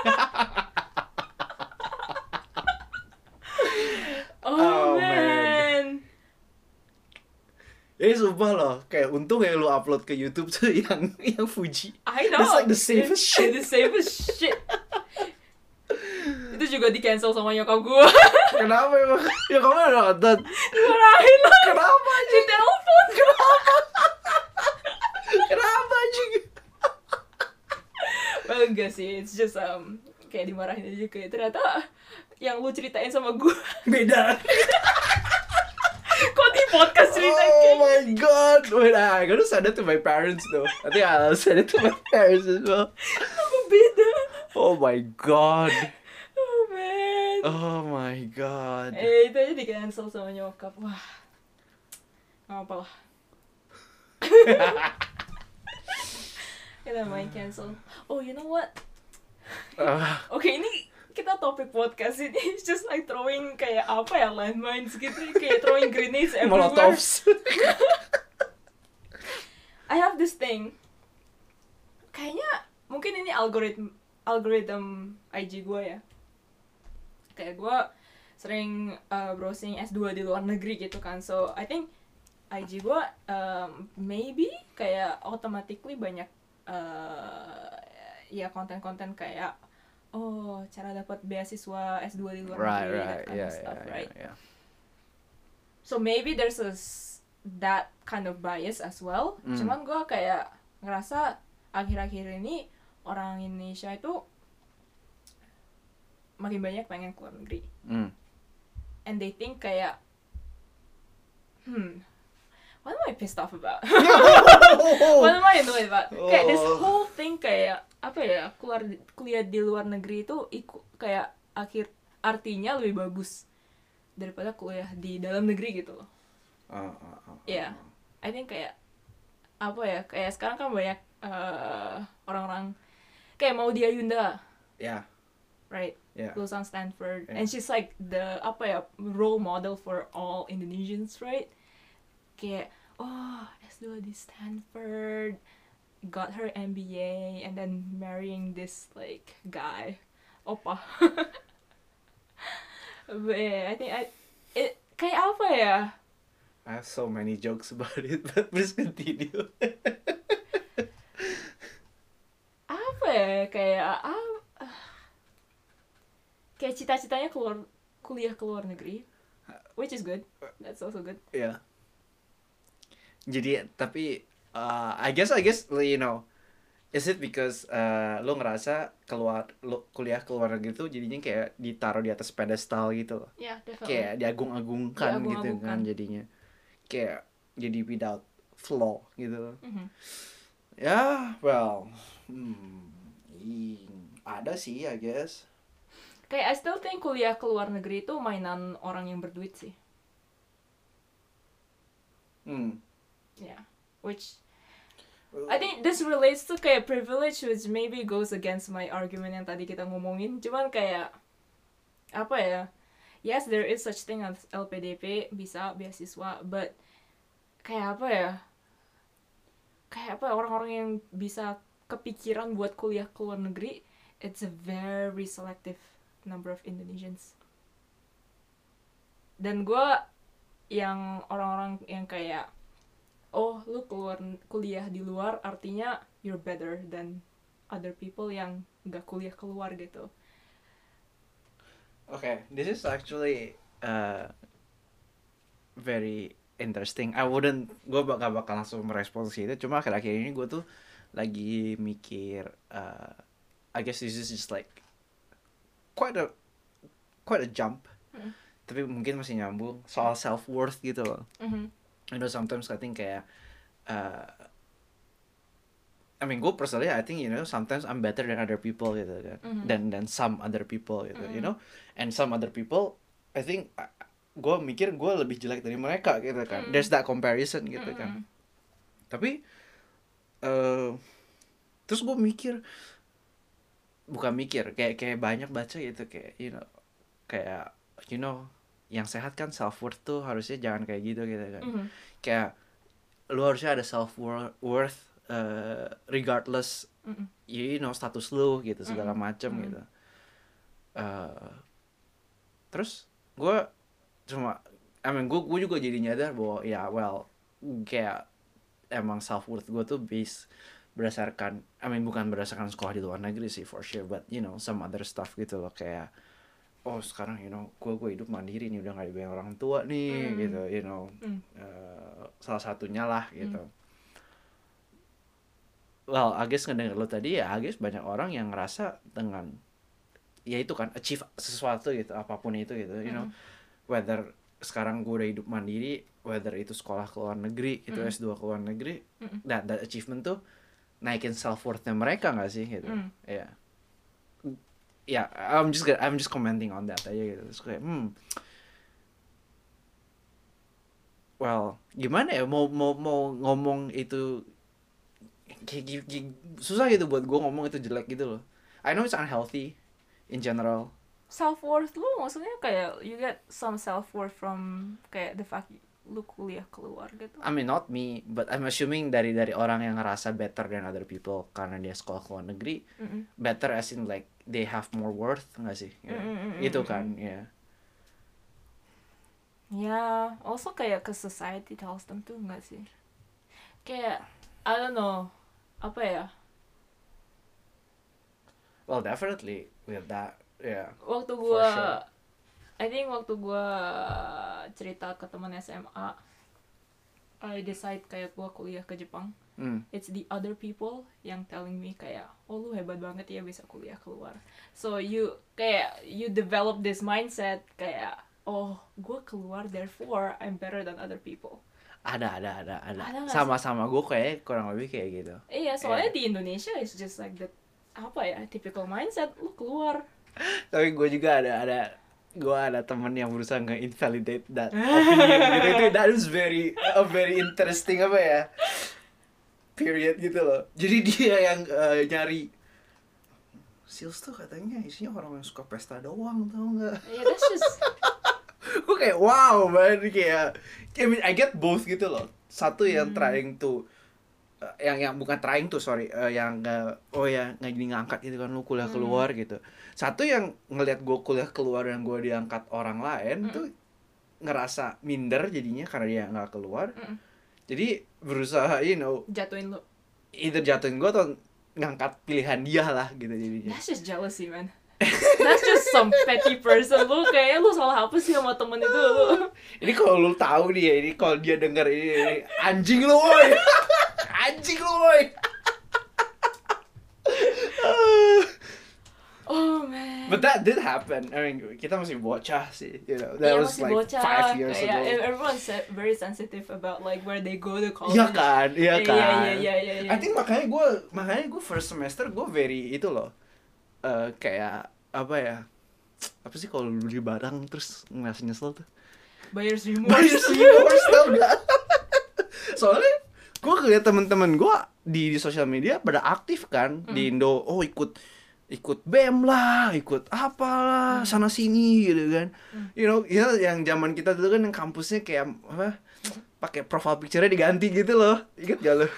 Oh, Oh, man. Ini sumpah loh, kayak untung ya lu upload ke YouTube tuh yang yang Fuji. I know. That's like the safest It's shit. The safest shit. Itu juga di cancel sama nyokap gue. Kenapa emang? Ya kamu udah nonton. Dimarahin lah. Kenapa Di anjing? telepon. Kenapa? Kenapa anjing? Well, enggak sih. It's just um kayak dimarahin aja, kayak ternyata yang lu ceritain sama gue Beda. kok di podcast ceritain Oh kayak my god. Wait, I gotta send it to my parents though. I think I'll send it to my parents as well. apa beda. Oh my god. Oh man. Oh my god. Eh itu aja di cancel sama nyokap. Wah, nggak apa lah. Kita main cancel. Oh, you know what? Ah, Oke, ini kita topik podcast ini it's just like throwing kayak apa ya, landmines gitu, kayak throwing grenades everywhere. Molotovs. I have this thing. Kayaknya mungkin ini algoritm algorithm I G gue ya. Kayak gue sering uh, browsing S dua di luar negeri gitu kan. So I think I G gue um, maybe kayak automatically banyak uh, ya konten-konten kayak oh cara dapat beasiswa S dua di luar Right, negeri, right, that kind yeah, of stuff, yeah, right? yeah, yeah. So maybe there's a s- that kind of bias as well. Mm. Cuman gue kayak ngerasa akhir-akhir ini orang Indonesia itu makin banyak pengen keluar negeri. Mm. And they think kayak, hmm, what am I pissed off about? What am I annoyed about? Kayak this Oh. whole thing kayak apa ya, keluar kuliah di luar negeri itu iku, kayak akhir artinya lebih bagus daripada kuliah di dalam negeri gitu loh. Uh, uh, uh, Iya, I think kayak apa ya, kayak sekarang kan banyak uh, orang-orang kayak Maudy Ayunda, Yeah, right? yeah. Lulusan Stanford, Yeah. and she's like the apa ya, role model for all Indonesians, right? Kayak oh S dua di Stanford, got her M B A, and then marrying this like guy, opa. But yeah, I think I it kayak apa ya? I have so many jokes about it, but please continue. Apa ya, kayak ah, kayak cita-citanya keluar kuliah ke luar negeri, which is good, that's also good. Yeah. Jadi tapi uh, I guess I guess you know, is it because uh, lo ngerasa keluar lo kuliah ke luar negeri tuh jadinya kayak ditaruh di atas pedestal gitu loh. Yeah, definitely. Kayak diagung-agungkan gitu Diagung-agungkan. kan jadinya. Kayak jadi without flaw gitu loh. Mhm. Ya, well, hmm, ing- ada sih I guess. Kayak I still think kuliah ke luar negeri itu mainan orang yang berduit sih. Hmm. Yeah, which I think this relates to kayak privilege, which maybe goes against my argument yang tadi kita ngomongin. Cuman kayak apa ya? Yes, there is such thing as L P D P, bisa beasiswa, but kayak apa ya? Kayak apa orang-orang yang bisa kepikiran buat kuliah ke luar negeri, it's a very selective number of Indonesians. Dan gue yang orang-orang yang kayak oh lu keluar kuliah di luar artinya you're better than other people yang nggak kuliah keluar gitu. Okay, this is actually uh, very interesting. I wouldn't, gue gak bakal langsung merespons itu. Cuma akhir-akhir ini gue tuh lagi mikir, uh, I guess this is just like quite a quite a jump. Hmm. Tapi mungkin masih nyambung soal self worth gitu loh. Mm-hmm. You know, sometimes I think kayak, uh, I mean, gue personally, I think, you know, sometimes I'm better than other people gitu kan, Mhm. than than some other people gitu, you Mhm. know, and some other people, I think, uh, gue mikir gue lebih jelek dari mereka gitu kan, Mhm. there's that comparison gitu kan, Mhm. tapi, uh, terus gue mikir, bukan mikir, kayak kayak banyak baca gitu kayak you know kayak you know yang sehat kan self worth tuh harusnya jangan kayak gitu gitu kan. Mhm. Kayak lu harusnya ada self worth uh, regardless Mhm. you know status lu gitu segala Mm-mm. macam Mm-mm. gitu. Uh, terus gue cuma I mean gue gue juga jadi nyadar bahwa ya well kayak emang self worth gue tuh base berdasarkan I mean bukan berdasarkan sekolah di luar negeri sih for sure, but you know some other stuff gitu loh, kayak oh sekarang you know gue gue hidup mandiri nih, udah gak dibayar orang tua nih Mm. gitu you know Mm. uh, salah satunya lah gitu. Mm. Well I guess ngedenger lo tadi ya I guess banyak orang yang ngerasa dengan ya itu kan achieve sesuatu gitu apapun itu gitu you know Mm. whether sekarang gue udah hidup mandiri, whether itu sekolah ke luar negeri itu Mm. S dua ke luar negeri, Mm. that, that achievement tuh naikin self worthnya mereka nggak sih gitu. Mm. Ya ya I'm just I'm just commenting on that aja gitu. Terus kayak hmm well gimana ya mau mau mau ngomong itu kayak, kayak, kayak susah gitu buat gue ngomong itu jelek gitu loh. I know it's unhealthy in general. Self worth lu maksudnya kayak you get some self worth from kayak the fact lu kuliah keluar gitu. I mean not me, but I'm assuming dari dari orang yang ngerasa better than other people karena dia sekolah ke luar negeri. Mm-mm. Better as in like they have more worth nggak sih? Ya. Mm-mm, Itu mm-mm. kan ya. Ya, also kayak ke society tells them tuh nggak sih? Kayak I don't know apa ya? Well definitely with that ya. Yeah. Waktu For gua sure. I think waktu gua cerita ke teman S M A, I decide kayak gua kuliah ke Jepang. Hmm. It's the other people yang telling me kayak, oh lu hebat banget ya bisa kuliah keluar. So you kayak you develop this mindset kayak, oh gue keluar therefore I'm better than other people. Ada ada ada ada. Ada nggak Sama-sama gue kayak kurang lebih kayak gitu. Iya soalnya Yeah. di Indonesia it's just like that apa ya typical mindset lu keluar. Tapi gue juga ada ada gue ada teman yang berusaha nge-invalidate that opinion gitu. Itu that is very a very interesting apa ya period gitu loh. Jadi dia yang uh, nyari sales tuh katanya isinya orang yang suka pesta doang, tau nggak? Yeah, that's just Gue kayak wow man, kayak I mean I get both gitu loh. Satu yang Hmm. trying to uh, yang yang bukan trying to sorry uh, yang uh, oh ya nggak jadi ngangkat gitu kan lu kuliah Hmm. keluar gitu. Satu yang ngelihat gue kuliah keluar dan gue diangkat orang lain Hmm. tuh ngerasa minder jadinya karena dia nggak keluar. Mm-mm. Jadi berusaha you know jatuhin lu. either jatuhin gue atau ngangkat pilihan dia lah gitu jadinya. That's just jealousy man. That's just some petty person. Lu kayaknya lu salah apa sih sama temen itu lu? Ini kalau lu tahu nih ya, ini kalau dia denger ini, ini anjing lu woy. Anjing lu woy. Oh man. But that did happen. I mean, kita masih bocah sih, you know. That Iya, was masih like bocah, five years kayak, ago. everyone's se- very sensitive about like where they go to college. Iya kan, iya kan. Iya, iya, iya, iya, iya. I think makanya gue, makanya gue first semester gue very itu loh, uh, kayak apa ya? Apa sih kalau lu beli barang terus ngerasa nyesel tuh? Buyer's remorse. Buyer's remorse tau gak? Soalnya gue ngeliat temen-temen gue di, di sosial media pada aktif kan Hmm. di Indo, oh ikut ikut B E M lah, ikut apalah, Hmm. sana sini gitu kan. Hmm. You know, ya yang zaman kita dulu kan yang kampusnya kayak apa? Pakai profile picture-nya diganti gitu loh. Ingat gak lo?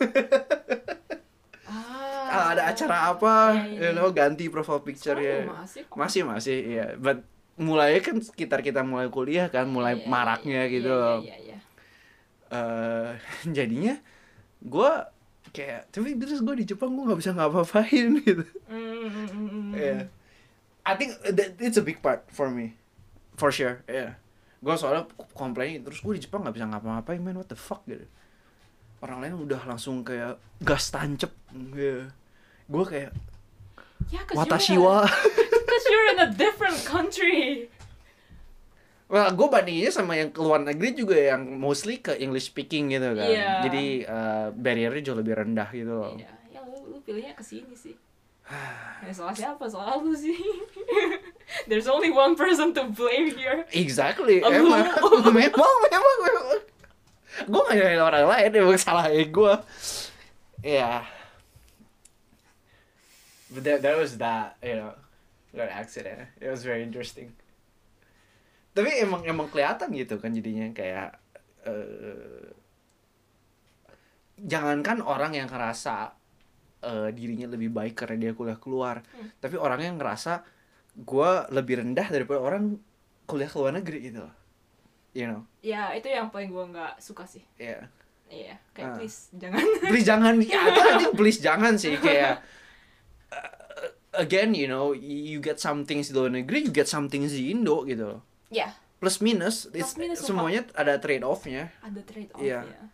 Ah, Ah, ada acara apa, Iya, iya, you iya. know, ganti profile Sekarang picture-nya. masih kok. Masih masih, iya. But mulai kan sekitar kita mulai kuliah kan, mulai Iya, iya, maraknya iya, gitu iya, loh. Iya, iya, iya. Eh, jadinya gue kayak tapi terus gue di Jepang gue nggak bisa ngapa-ngapain gitu. Mm, mm, mm, mm. Yeah. I think that it's a big part for me, for sure. Yeah. Gue soalnya komplain terus gue di Jepang nggak bisa ngapa-ngapain, man, what the fuck gitu. Orang lain udah langsung kayak gas tancep. Yeah. Gue kayak Yeah, 'cause watashi you're, wa. Because you're in a different country. Well, gue bandinginnya sama yang keluar negeri juga yang mostly ke English speaking gitu kan. Iya. Jadi uh, barriernya jauh lebih rendah gitu loh. Iya, ya lu, lu pilihnya ke sini sih. Ya, soal siapa? Soal lu sih. There's only one person to blame here. Exactly, Oh, emang, lu. memang, memang, memang. Gue gak nyalain orang lain, emang salahnya gue. Ya. but that that was that, you know, that accident. It was very interesting. Tapi emang emang kelihatan gitu kan jadinya kayak uh, jangankan orang yang ngerasa uh, dirinya lebih baik karena dia kuliah keluar, Hmm. tapi orang yang ngerasa gue lebih rendah daripada orang kuliah ke luar negeri gitu, you know. Ya itu yang paling gue nggak suka sih. Iya. Iya, kayak Ah. please jangan. Please jangan, ya I think please jangan sih kayak uh, again, you know, you get some things di luar negeri, you get some things di Indo gitu. Ya, Plus minus, it's, Plus minus semuanya ada trade off-nya. ada trade off Iya. ya.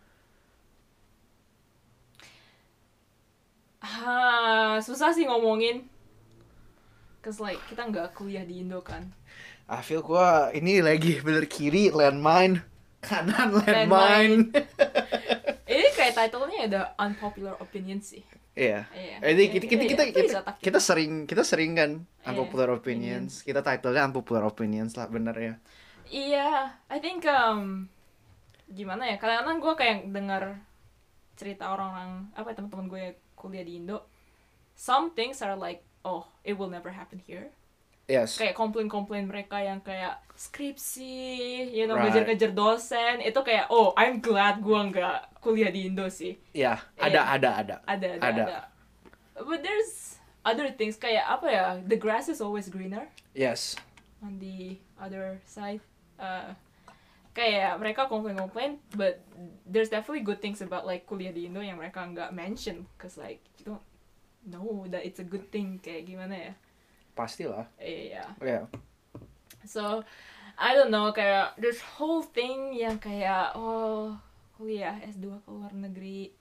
Ah, susah sih ngomongin. Cause like kita nggak kuliah di Indo kan. I feel gua ini lagi bener kiri landmine, kanan landmine. Ini kayak title-nya ada unpopular opinion sih. Iya. Iya. Jadi kita kita Iya, kita itu kita, bisa tak kita sering kita sering kan Iya, unpopular opinions. Kita title-nya unpopular opinions lah bener ya. Iya, I think um, gimana ya? Kadang-kadang gue kayak dengar cerita orang-orang apa ya, teman-teman gue yang kuliah di Indo. Some things are like, oh, it will never happen here. Yes. Kayak komplain-komplain mereka yang kayak skripsi, you know, Right. ngejar-ngejar dosen, itu kayak, oh, I'm glad gue nggak kuliah di Indo sih. Iya, Iya. ada ada ada. Ada, ada, Ada. ada. But there's other things kayak apa ya? The grass is always greener Yes. on the other side. Uh, kayak mereka komplain-komplain, but there's definitely good things about like kuliah di Indo yang mereka nggak mention, cause like you don't know that it's a good thing, kayak gimana ya? Pastilah. Iya. Iya. So I don't know, kayak this whole thing yang kayak oh kuliah S dua ke luar negeri.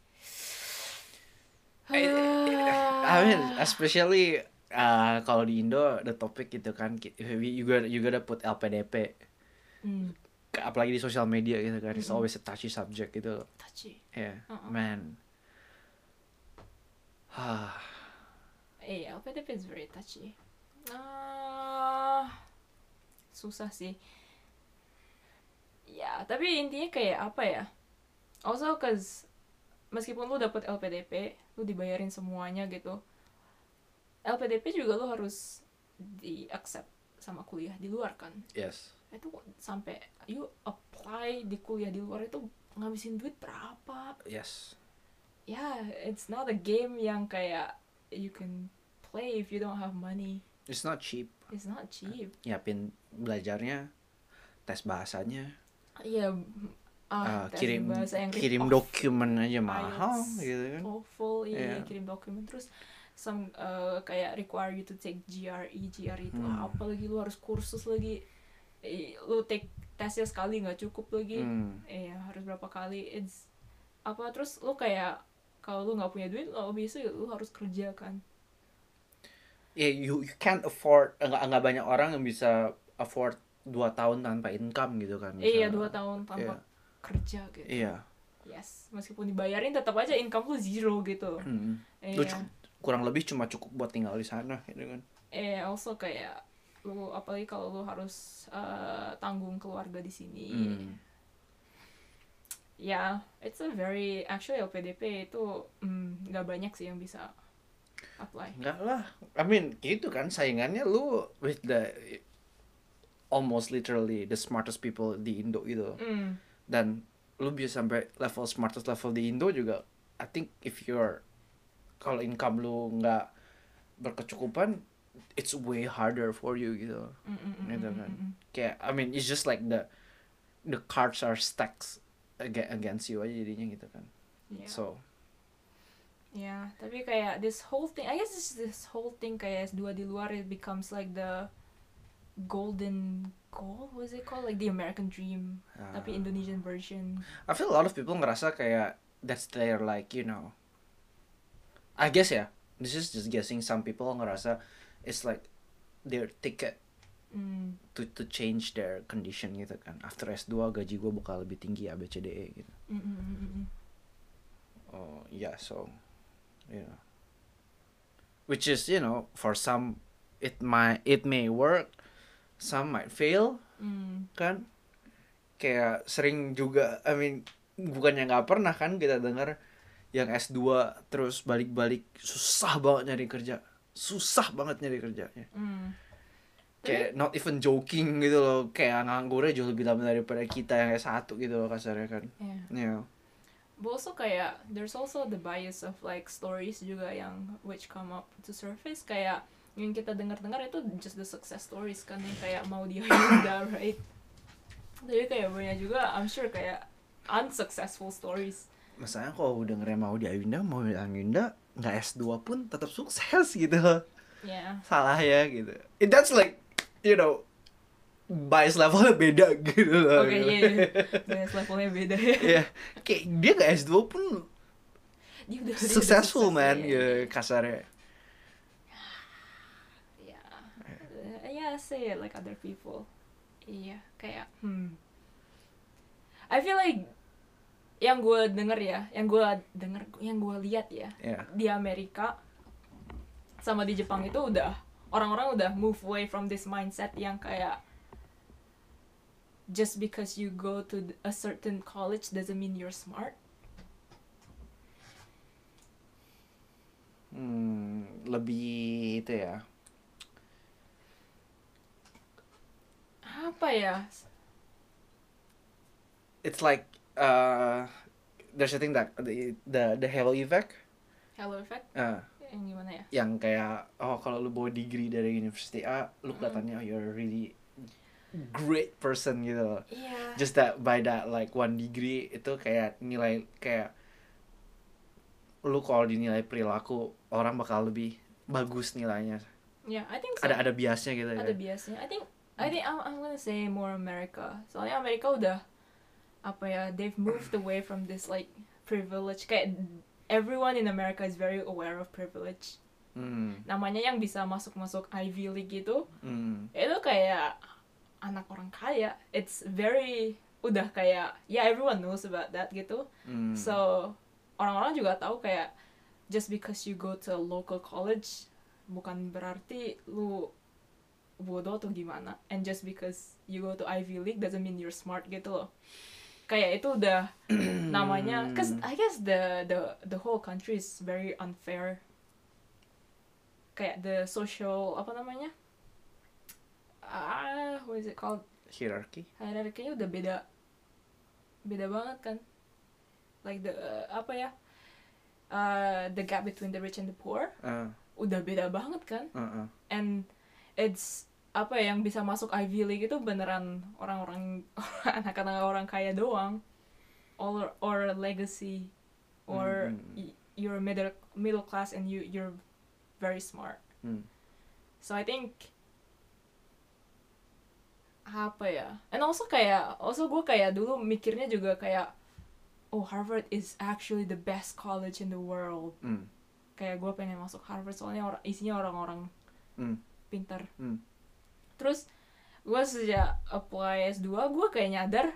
I, I mean, especially uh, kalau di Indo the topic gitu kan, you gotta you gotta put L P D P. Hmm, Apalagi di sosial media gitu kan, it's Mm-mm. always a touchy subject gitu. touchy. Yeah, Uh-uh. man. Ah, Iya, L P D P is very touchy. Ah, susah sih. Ya, tapi intinya kayak apa ya? Also, cause meskipun lu dapet L P D P, lu dibayarin semuanya gitu. L P D P juga lu harus di accept sama kuliah di luar kan. yes. Itu sampai you apply di kuliah di luar itu ngabisin duit berapa? Yes. Ya, yeah, it's not a game yang kayak you can play if you don't have money. It's not cheap. It's not cheap. Nyiapin belajarnya, tes bahasanya, Iya, uh, ah, tes kirim bahasa Inggris kirim off- dokumen aja mahal IELTS gitu kan. awful, iya, Iya. kirim dokumen terus some uh, kayak require you to take G R E, G R E itu Hmm. apa lagi, lu harus kursus lagi. Eh, lu take tesnya sekali nggak cukup lagi. Hmm. Iya, harus berapa kali. It's apa terus lu kayak kalau lu nggak punya duit, lo bisa lu harus kerja kan. Yeah, you you can't afford, nggak nggak banyak orang yang bisa afford dua tahun tanpa income gitu kan. Iya, misalnya. dua tahun tanpa Iya. kerja gitu. Iya. Yes, meskipun dibayarin tetap aja income lu zero gitu. Hmm. Iya. Lu cu- kurang lebih cuma cukup buat tinggal di sana gitu kan. Eh, also kayak lu apalagi kalau lu harus uh, tanggung keluarga di sini. Hmm. Ya, it's a very actually L P D P itu mm, nggak banyak sih yang bisa apply. Enggak lah. I mean, gitu kan saingannya lu with the almost literally the smartest people di Indo gitu. Mm. Dan lu bisa sampai level smartest level di Indo juga. I think if you're kalau income lu nggak berkecukupan, it's way harder for you gitu. Mm, mm, mm, Gitu mm, kan. mm, mm. Kayak I mean it's just like the the cards are stacked aga- against you aja jadinya gitu kan. Yeah. So Ya, tapi kayak this whole thing, I guess this, this whole thing kayak S dua di luar, it becomes like the golden goal, what is it called? Like the American dream, uh, tapi Indonesian version. I feel a lot of people ngerasa kayak that's their like you know. I guess ya, this is just guessing. Some people ngerasa it's like their ticket Mm. to to change their condition gitu kan. After S dua gaji gue bakal lebih tinggi A B C D E gitu. Mm, mm, mm, mm, mm. Oh yeah, so you know, which is you know for some it might it may work, some might fail Mm. kan. Kayak sering juga, I mean bukannya nggak pernah kan kita dengar yang S dua terus balik-balik susah banget nyari kerja. susah banget nyari kerjanya. Hmm. Kayak not even joking gitu loh, kayak nganggurnya jauh lebih lama daripada kita yang S satu gitu loh kasarnya kan. Yeah. Yeah. But also kayak there's also the bias of like stories juga yang which come up to surface, kayak yang kita dengar-dengar itu just the success stories kan, yang kayak mau dia Hyunda, right? Jadi kayak banyak juga I'm sure kayak unsuccessful stories. Masalahnya kalau dengernya mau di Ayunda, mau di Ayunda nggak S dua pun tetap sukses gitu loh. Yeah. Salah ya gitu. It, that's like, you know, bias levelnya beda gitu loh. Oke, iya, iya. Bias levelnya beda ya. Iya, kayak dia nggak S dua pun Dia udah, dia udah successful sukses, man, iya, gitu iya. kasarnya. Yeah. Uh, yeah, say it like other people. Iya, kayak hmm. I feel like yang gue denger ya, yang gue denger, yang gue lihat ya, Yeah. di Amerika sama di Jepang itu udah orang-orang udah move away from this mindset yang kayak just because you go to a certain college doesn't mean you're smart. Hmm, lebih itu ya. Apa ya? It's like uh, there's a thing that the the, the halo effect. Halo effect? Uh, Yang gimana ya? yang kayak oh kalau lu bawa degree dari University A, lu kelihatannya oh, you're a really great person gitu loh. Iya. Just that by that like one degree itu kayak nilai kayak lu kalau dinilai perilaku orang bakal lebih bagus nilainya. Yeah, I think so. Ada ada biasnya gitu Ada ya. biasnya. I think I think I'm, I'm gonna say more America. Soalnya Amerika udah apa ya? They've moved away from this like privilege. Kayak everyone in America is very aware of privilege. Hmm. Namanya yang bisa masuk-masuk Ivy League gitu, Hmm. itu kayak anak orang kaya. It's very udah kayak yeah, everyone knows about that gitu. Hmm. So orang-orang juga tahu kayak just because you go to a local college bukan berarti lu bodoh atau gimana, and just because you go to Ivy League doesn't mean you're smart gitu loh. Kayak itu udah namanya, cause I guess the the the whole country is very unfair. Kayak the social apa namanya? Ah, what is it called? Hierarchy. Hierarchy-nya udah beda. Beda banget kan? Like the uh, apa ya? Uh, the gap between the rich and the poor Uh, udah beda banget kan? uh, uh. And it's apa ya, yang bisa masuk Ivy League itu beneran orang-orang anak-anak orang kaya doang, or or legacy, or Mm, mm. y- you're middle middle class and you you're very smart. Hmm. So I think apa ya, and also kayak also gue kayak dulu mikirnya juga kayak oh Harvard is actually the best college in the world. Hmm. Kayak gue pengen masuk Harvard soalnya orang isinya orang-orang Hmm. pintar. Hmm. Terus gue sejak apply S dua gue kayak nyadar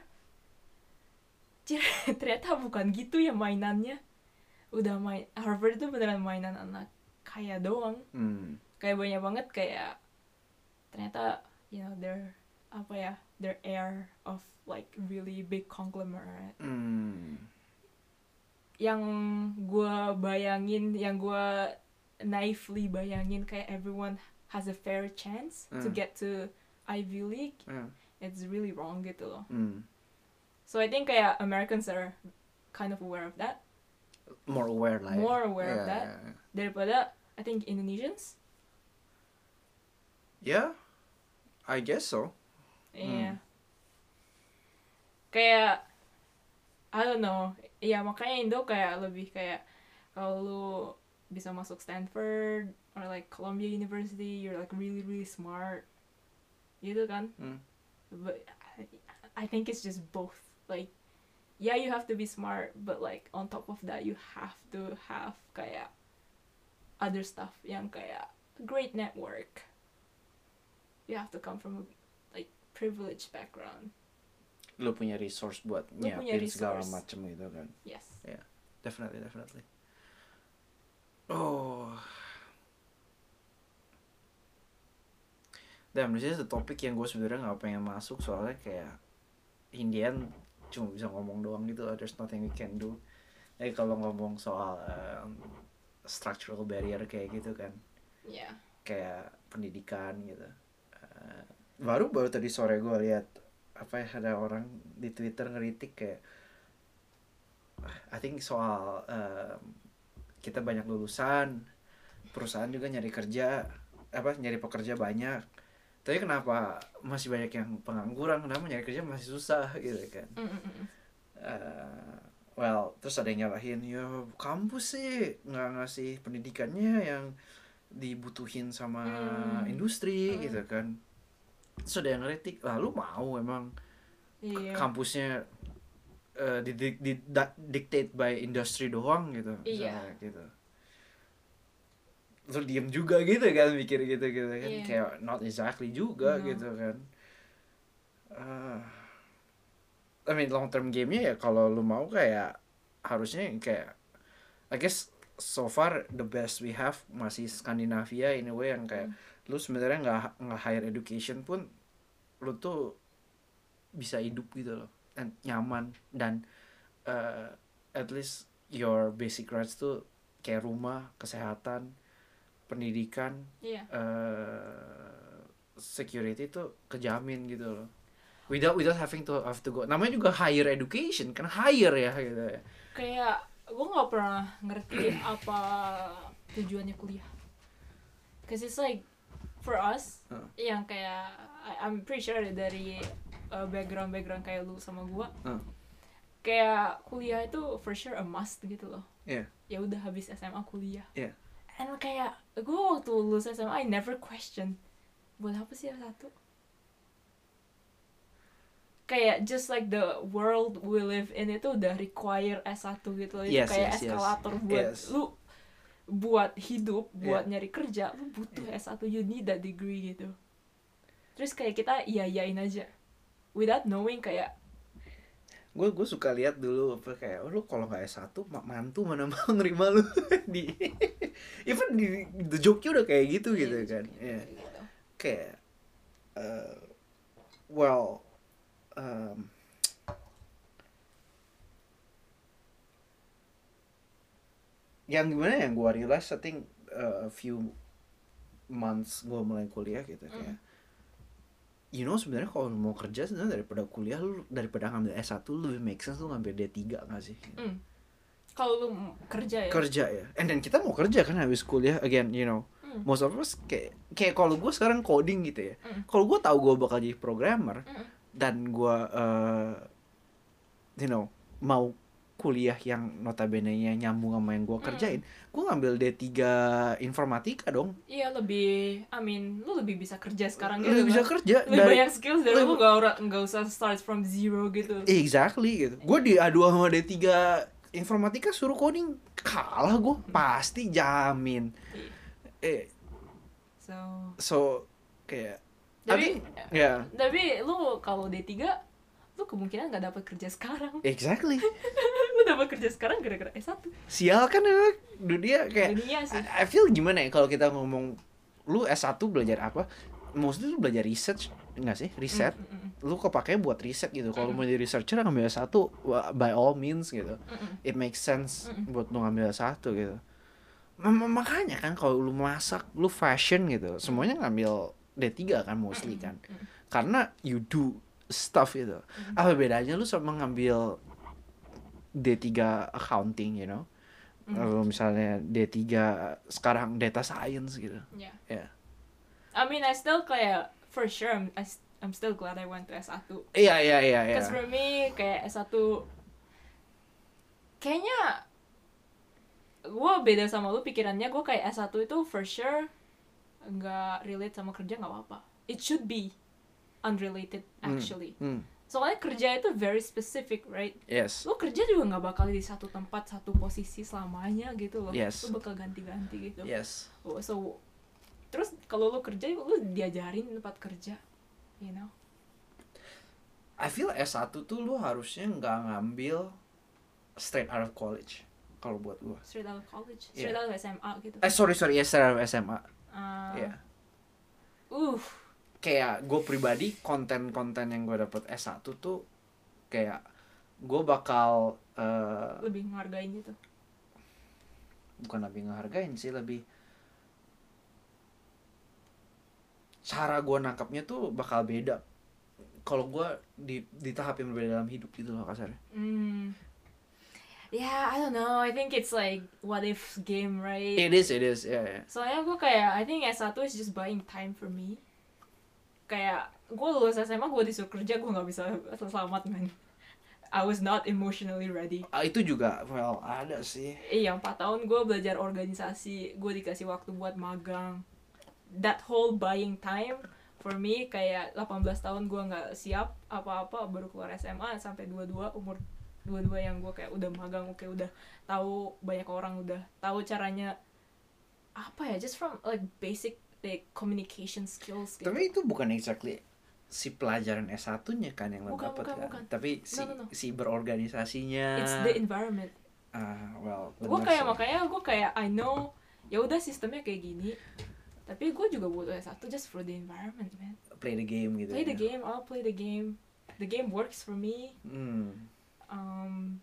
ternyata bukan gitu ya mainannya. Udah main Harvard itu beneran mainan anak kaya doang. Hmm. Kayak banyak banget kayak ternyata you know their apa ya, their air of like really big conglomerate. Hmm. Yang gue bayangin, yang gue naively bayangin kayak everyone has a fair chance to Mm. get to Ivy League, Uh. it's really wrong gitu loh. Hmm. So I think kayak Americans are kind of aware of that, More aware lah. Ya. more aware of Yeah, that yeah, yeah. daripada I think Indonesians. Yeah, I guess so. Iya. Kayak I don't know. Iya, makanya Indo kayak lebih kayak kalau lu bisa masuk Stanford or like Columbia University, you're like really really smart. Gitu kan? Hmm. But I, I think it's just both. Like yeah, you have to be smart, but like on top of that you have to have kayak other stuff yang kayak great network. You have to come from a like privileged background. Lu punya resource buat Lu punya nyiapin segala resource. macem gitu kan. Yes. Definitely, definitely. Oh. Dan this is the topik yang gue sebenarnya nggak pengen masuk soalnya kayak Indian cuma bisa ngomong doang gitu. There's nothing we can do. Jadi kalau ngomong soal um, structural barrier kayak gitu kan, Iya. kayak pendidikan gitu. Uh, baru baru tadi sore gue lihat apa ya, ada orang di Twitter ngeritik kayak I think soal um, kita banyak lulusan, perusahaan juga nyari kerja, apa nyari pekerja banyak, tapi kenapa masih banyak yang pengangguran, kenapa nyari kerja masih susah gitu kan. Mm-mm. Uh, well terus ada yang nyalahin ya kampus sih nggak ngasih pendidikannya yang dibutuhin sama Mm. industri Mm. gitu kan. Terus ada yang ngeritik, lah lu mau emang Iya. kampusnya uh, di, di, di, da, dictate by industri doang gitu, Iya. misalnya gitu. Terus diem juga gitu kan, mikir gitu gitu kan, Iya. kayak not exactly juga No. gitu kan. Uh, I mean long term game-nya ya kalau lu mau kayak harusnya kayak I guess so far the best we have masih Skandinavia in a way yang kayak Mm. lu sebenarnya nggak nggak higher education pun lu tuh bisa hidup gitu loh, dan nyaman, dan uh, at least your basic rights tuh kayak rumah, kesehatan, pendidikan, Iya. uh, security tuh kejamin gitu loh. Without without having to have to go. Namanya juga higher education kan, higher ya gitu ya. Kayak gue nggak pernah ngerti apa tujuannya kuliah. Cause it's like for us Uh. yang kayak I- I'm pretty sure dari uh, background background kayak lu sama gue, Uh. kayak kuliah itu for sure a must gitu loh. Yeah. Ya udah habis S M A kuliah. Yeah. And kayak gue waktu lulus S M A I never question buat apa sih S satu. Kayak just like the world we live in itu udah require S satu gitu loh. Itu Yes, kayak yes, yes. eskalator buat Yes. lu buat hidup, buat Yeah. nyari kerja, lu butuh S satu, you need that degree gitu. Terus kayak kita iya-iyain aja without knowing kayak gue gue suka lihat dulu apa kayak oh, lu kalau nggak S satu mantu mana mau nerima lu di even di the joke-nya udah kayak gitu gitu iya, kan. gitu, Yeah. gitu. Kayak uh, well um, yang gimana yang gue realize I think uh, a few months gue mulai kuliah gitu kayak Mm. you know sebenarnya kalau lu mau kerja sebenarnya daripada kuliah lu daripada ngambil S satu lu lebih make sense lu ngambil D tiga nggak sih? Mm. Kalau lu m- kerja ya. Kerja ya, and then kita mau kerja kan habis kuliah again, you know, Mm. most of us kayak kayak kalau gue sekarang coding gitu ya, Mm. kalau gue tahu gue bakal jadi programmer Mm. dan gue uh, you know mau kuliah yang notabene-nya nyambung sama yang gue kerjain, gue ngambil D tiga informatika dong. Iya lebih, I mean, lu lebih bisa kerja sekarang gitu. Lebih bisa kan? kerja Lebih dari banyak skills dari lebih- lu gak, ora- nggak usah start from zero gitu. exactly gitu. Gue diadu sama D tiga informatika suruh coding kalah gue pasti jamin. Eh So, so kayak tapi, I- ya tapi lu kalau D tiga, lu kemungkinan gak dapat kerja sekarang. exactly. Lu dapat kerja sekarang gara-gara S satu. Sial kan emang dunia kayak Dunia sih. I, I feel gimana ya kalau kita ngomong lu S satu belajar apa? Mostly lu belajar research enggak sih? Riset. Mm, mm, mm. Lu kepake buat riset gitu. Kalau Mm. mau jadi researcher ngambil S satu wah, by all means gitu. Mm-mm. It makes sense Mm-mm. buat lu ngambil S satu gitu. M- makanya kan kalau lu masak, lu fashion gitu, semuanya ngambil D tiga kan mostly kan. Mm-mm. Karena you do stuff gitu. Mm. Apa bedanya lu sama ngambil D tiga accounting, you know? Mm. Lalu misalnya D tiga sekarang data science gitu. Yeah. Ya. I mean, I still kayak for sure I'm, I, s- I'm still glad I went to S satu. Iya iya iya iya. Because for me kayak S satu kayaknya gue beda sama lu pikirannya. Gue kayak S satu itu for sure nggak relate sama kerja nggak apa-apa. It should be unrelated actually. Hmm. Soalnya kerja itu very specific, right? Yes. Lu kerja juga nggak bakal di satu tempat satu posisi selamanya gitu loh. Yes. Lu bakal ganti-ganti gitu. Yes. Oh, so terus kalau lu kerja lu diajarin tempat kerja, you know. I feel S satu tuh lu harusnya nggak ngambil straight out of college kalau buat gua. Straight out of college, straight Yeah. out of S M A gitu. Eh sorry sorry ya straight out of S M A. Uh, Iya. Uh, Kayak gue pribadi konten-konten yang gue dapet S satu tuh kayak gue bakal uh, lebih ngehargain gitu. bukan lebih ngehargain sih, lebih cara gue nangkapnya tuh bakal beda kalau gue di di tahap yang berbeda dalam hidup gitu loh kasarnya. Hmm. Yeah, I don't know. I think it's like what if game, right? It is, it is, ya. Yeah, yeah. Soalnya gue kayak, I think S satu is just buying time for me. Kayak, gue lulus S M A, gue disuruh kerja, gue gak bisa selamat, man. I was not emotionally ready. Ah, itu juga, well, ada sih. Iya, empat tahun gue belajar organisasi, gue dikasih waktu buat magang. That whole buying time, for me, kayak delapan belas tahun gue gak siap apa-apa, baru keluar S M A, sampai dua puluh dua, umur dua puluh dua yang gue kayak udah magang, kayak udah tahu banyak orang, udah tahu caranya, apa ya, just from like basic like communication skills gitu. Tapi itu bukan exactly si pelajaran S satu-nya kan yang lo Bukan, dapat bukan, kan. bukan. Tapi si No, no, no. si berorganisasinya. It's the environment. Ah, well, Gue bener kayak sih. makanya gue kayak I know ya udah sistemnya kayak gini, tapi gue juga butuh S satu just for the environment, man. Play the game gitu. Play ya. the game, I'll play the game. The game works for me. Hmm. Um,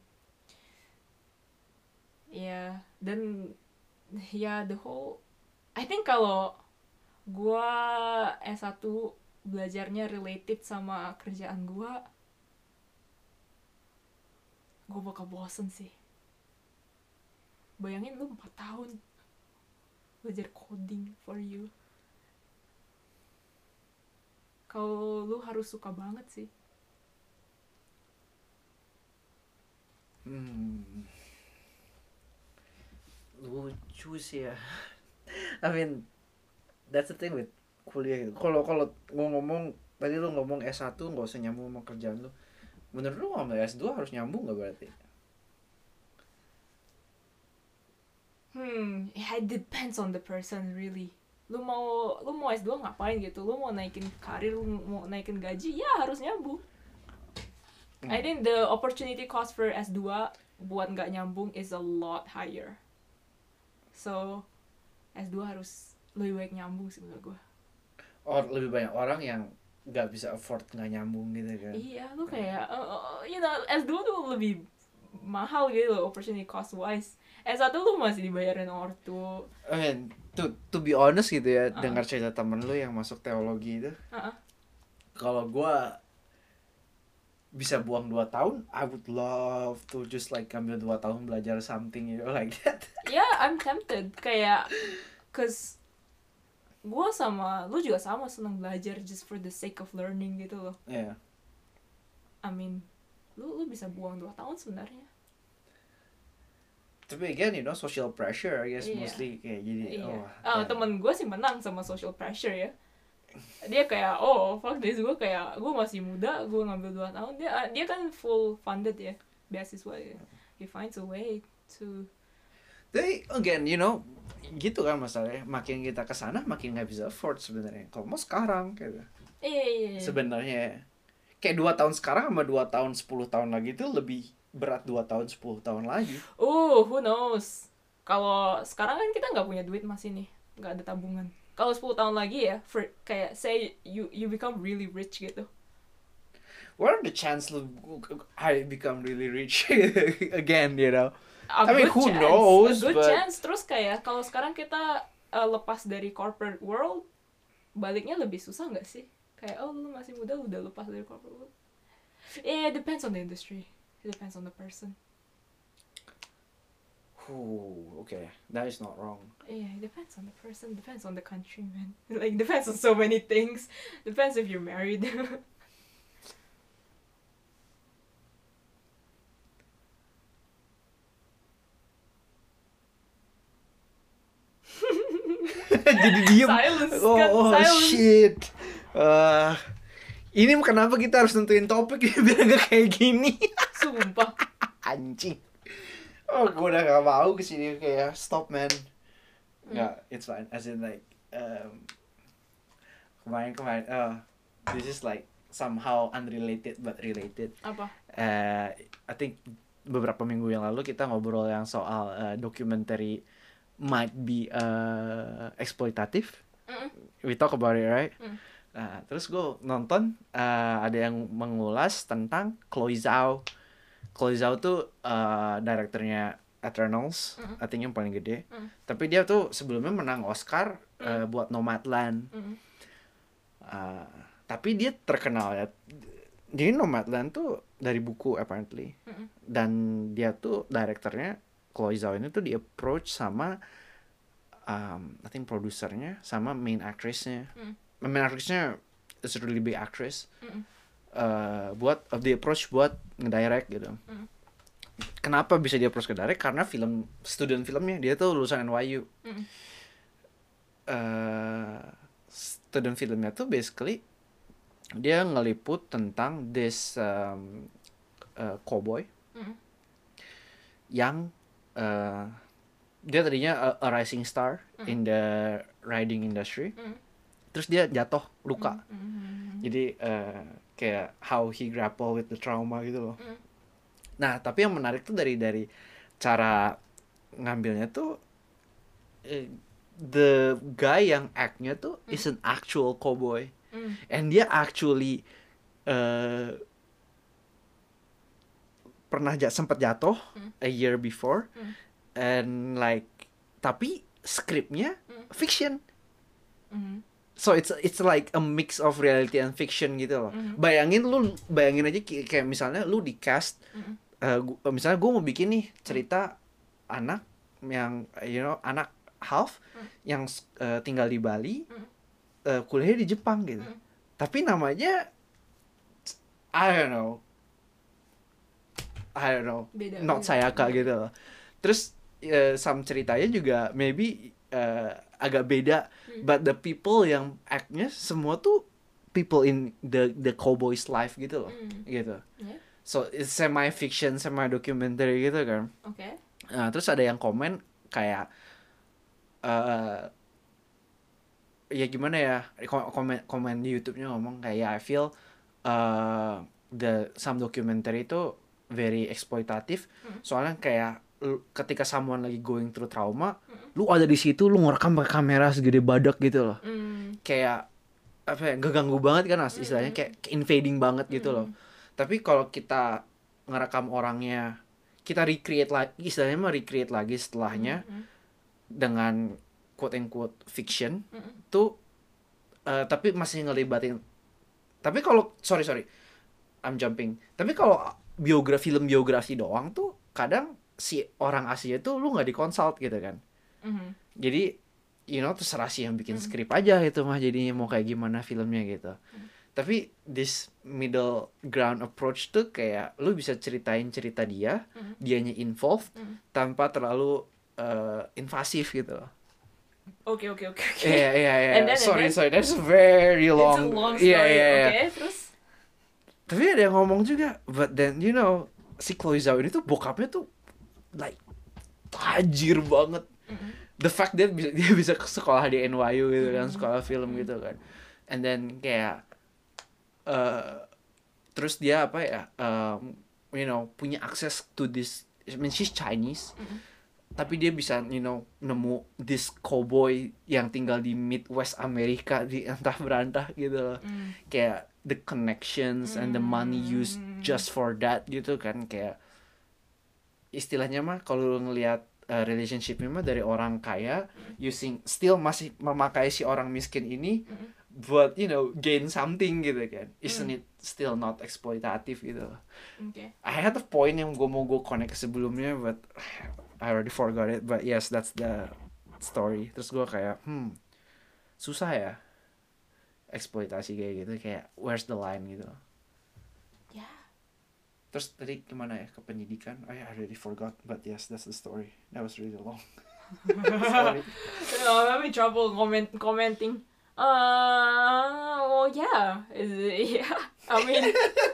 ya yeah. Dan ya yeah, the whole I think kalau gue S satu belajarnya related sama kerjaan gue, gue bakal bosen sih. Bayangin lu empat tahun belajar coding for you. Kalau lu harus suka banget sih. Hmm. Lucu sih ya. I mean, that's the thing with kuliah gitu. Kalau kalau gua ngomong tadi lu ngomong S satu nggak usah nyambung sama kerjaan lu. Menurut lu ngambil S dua harus nyambung nggak berarti? Hmm, it depends on the person really. Lu mau lu mau S dua ngapain gitu? Lu mau naikin karir, lu mau naikin gaji, ya harus nyambung. Hmm. I think the opportunity cost for S dua buat nggak nyambung is a lot higher. So S dua harus lebih baik nyambung sih menurut gue. Oh, lebih banyak orang yang nggak bisa afford nggak nyambung gitu kan? Iya, lu kayak, uh, uh, you know, S dua tuh lebih mahal gitu loh, opportunity cost wise. S satu lu masih dibayarin ortu. I mean, to to be honest gitu ya, Uh-uh. dengar cerita temen lu yang masuk teologi itu. Uh-uh. Kalau gua bisa buang dua tahun, I would love to just like ambil dua tahun belajar something, you know, like that. Yeah, I'm tempted. Kayak, cause gue sama, lu juga sama seneng belajar just for the sake of learning gitu loh. Yeah. I mean, lu lu bisa buang dua tahun sebenarnya. Tapi again, you know, social pressure, I guess Iya. mostly kayak gini. Iya. Oh, Ah, yeah. temen gue sih menang sama social pressure ya. Dia kayak, oh fuck this, gue kayak, gue masih muda, gue ngambil dua tahun. Dia dia kan full funded ya, beasiswa ya. He finds a way to. Tapi again, you know, gitu kan masalahnya. Makin kita kesana, makin nggak bisa afford sebenarnya. Kalau mau sekarang, gitu. Iya iya iya. Sebenarnya kayak dua tahun sekarang sama dua tahun sepuluh tahun lagi itu lebih berat dua tahun sepuluh tahun lagi. Uh, who knows? Kalau sekarang kan kita nggak punya duit masih nih, nggak ada tabungan. Kalau sepuluh tahun lagi ya, for, kayak say you you become really rich gitu. What are the chance lu I become really rich again, you know? A I mean, good who chance, knows, a good but- chance. Terus kayak kalau sekarang kita uh, lepas dari corporate world, baliknya lebih susah nggak sih? Kayak oh lu masih muda udah lepas dari corporate world. Yeah, it depends on the industry. It depends on the person. Ooh, okay, that is not wrong. Yeah, it depends on the person. Depends on the country, man. Like depends on so many things. Depends if you're married. Jadi diem. Silence, Oh, kan? oh Silence. shit. Uh, ini kenapa kita harus nentuin topik ya biar gak kayak gini? Sumpah. Anjing. Oh, gue udah gak mau kesini kayak stop man. Nggak, it's fine. As in like um, kemarin-kemarin, uh, this is like somehow unrelated but related. Apa? Uh, I think beberapa minggu yang lalu kita ngobrol yang soal uh, documentary might be uh, eksploitatif. Mm-mm. We talk about it, right? Mm. Nah, terus gue nonton uh, ada yang mengulas tentang Chloe Zhao. Chloe Zhao tuh uh, direkturnya Eternals, Mm. I think yang paling gede. Mm. Tapi dia tuh sebelumnya menang Oscar uh, buat Nomadland. Mm. Uh, tapi dia terkenal ya. Jadi Nomadland tuh dari buku apparently. Mm-mm. Dan dia tuh direkturnya Chloe Zhao ini tuh di approach sama um, I think produsernya sama main actressnya. Mm. Main actressnya is a really big actress. Mm-mm. Uh, buat of the approach buat ngedirect gitu. Mm. Kenapa bisa dia approach ke direct? Karena film student filmnya dia tuh lulusan N Y U. Mm. Uh, student filmnya tuh basically dia ngeliput tentang this um, uh, cowboy Mm. yang uh, dia tadinya a, a rising star Mm. in the riding industry, Mm. terus dia jatuh luka. Mm. Mm. Jadi uh, kayak how he grapple with the trauma gitu loh. Mm. Nah tapi yang menarik tuh dari dari cara ngambilnya tuh uh, the guy yang act-nya tuh Mm. is an actual cowboy. Mm. And dia actually uh, pernah ja- sempat jatuh Mm. a year before, Mm. and like tapi skripnya Mm. fiction, Mm. so it's it's like a mix of reality and fiction gitu loh. Mm. Bayangin lu bayangin aja ki- kayak misalnya lu di cast, Mm. uh, gu- misalnya gue mau bikin nih cerita anak yang you know anak half Mm. yang uh, tinggal di Bali, Mm. uh, kuliahnya di Jepang gitu. Mm. Tapi namanya I don't know. I don't know. Beda. Not Sayaka gitu loh. Terus uh, some ceritanya juga maybe uh, agak beda, Mm. but the people yang act-nya semua tuh people in the the cowboy's life gitu loh. Mm. Gitu. Yeah. So it's semi fiction, semi documentary gitu kan. Okay. Nah, terus ada yang komen kayak uh, ya gimana ya, ko- komen komen di YouTube-nya ngomong kayak I feel uh, the some documentary itu very eksploitatif. Mm. Soalnya kayak lu- ketika someone lagi going through trauma, Mm. lu ada di situ, lu ngerekam pakai kamera segede badak gitu loh. Mm. Kayak apa ya, ganggu banget kan as- istilahnya, Mm. kayak kayak invading banget gitu loh. Mm. Tapi kalau kita ngerekam orangnya, kita recreate lagi, istilahnya mah recreate lagi setelahnya Mm. dengan quote and quote fiction Mm. tuh, uh, tapi masih ngelibatin. Tapi kalau sorry sorry, I'm jumping. Tapi kalau biografi film biografi doang tuh kadang si orang aslinya tuh lu nggak dikonsult gitu kan. Mm. Jadi you know terserah sih yang bikin Mm. skrip aja gitu mah, jadinya mau kayak gimana filmnya gitu. Mm. Tapi this middle ground approach tuh kayak lu bisa ceritain cerita dia, Mm. dianya involved Mm. tanpa terlalu uh, invasif gitu loh. Okay, okay, okay, okay. Iya iya iya. And then- and Sorry then- sorry, that's very It's a long. long story. Iya iya iya. Okay, terus. Tapi ada yang ngomong juga, but then you know si Chloe Zhao ini tuh bokapnya tuh like tajir banget. Mm. The fact that bisa, dia bisa ke sekolah di N Y U gitu kan, Mm. sekolah film gitu kan. And then kayak uh, terus dia apa ya, um, you know punya akses to this. I mean she's Chinese. Mm. Tapi dia bisa you know nemu this cowboy yang tinggal di Midwest Amerika di entah berantah gitu loh. Mm. Kayak the connections and the money used Mm. just for that gitu kan, kayak istilahnya mah kalau lu ngelihat uh, relationship-nya mah dari orang kaya using still masih memakai si orang miskin ini Mm. buat you know gain something gitu kan. Isn't Mm. it still not exploitative gitu loh. Okay. I had a point yang gue mau gue connect sebelumnya, but I already forgot it. But yes, that's the story. Terus gue kayak, hmm, susah ya eksploitasi kayak gitu. Kayak where's the line gitu. Yeah. Terus tadi gimana ya ke pendidikan? I already forgot. But yes, that's the story. That was really long. Sorry. I'm having trouble comment commenting. Uh, well, yeah, Is it- yeah. I mean,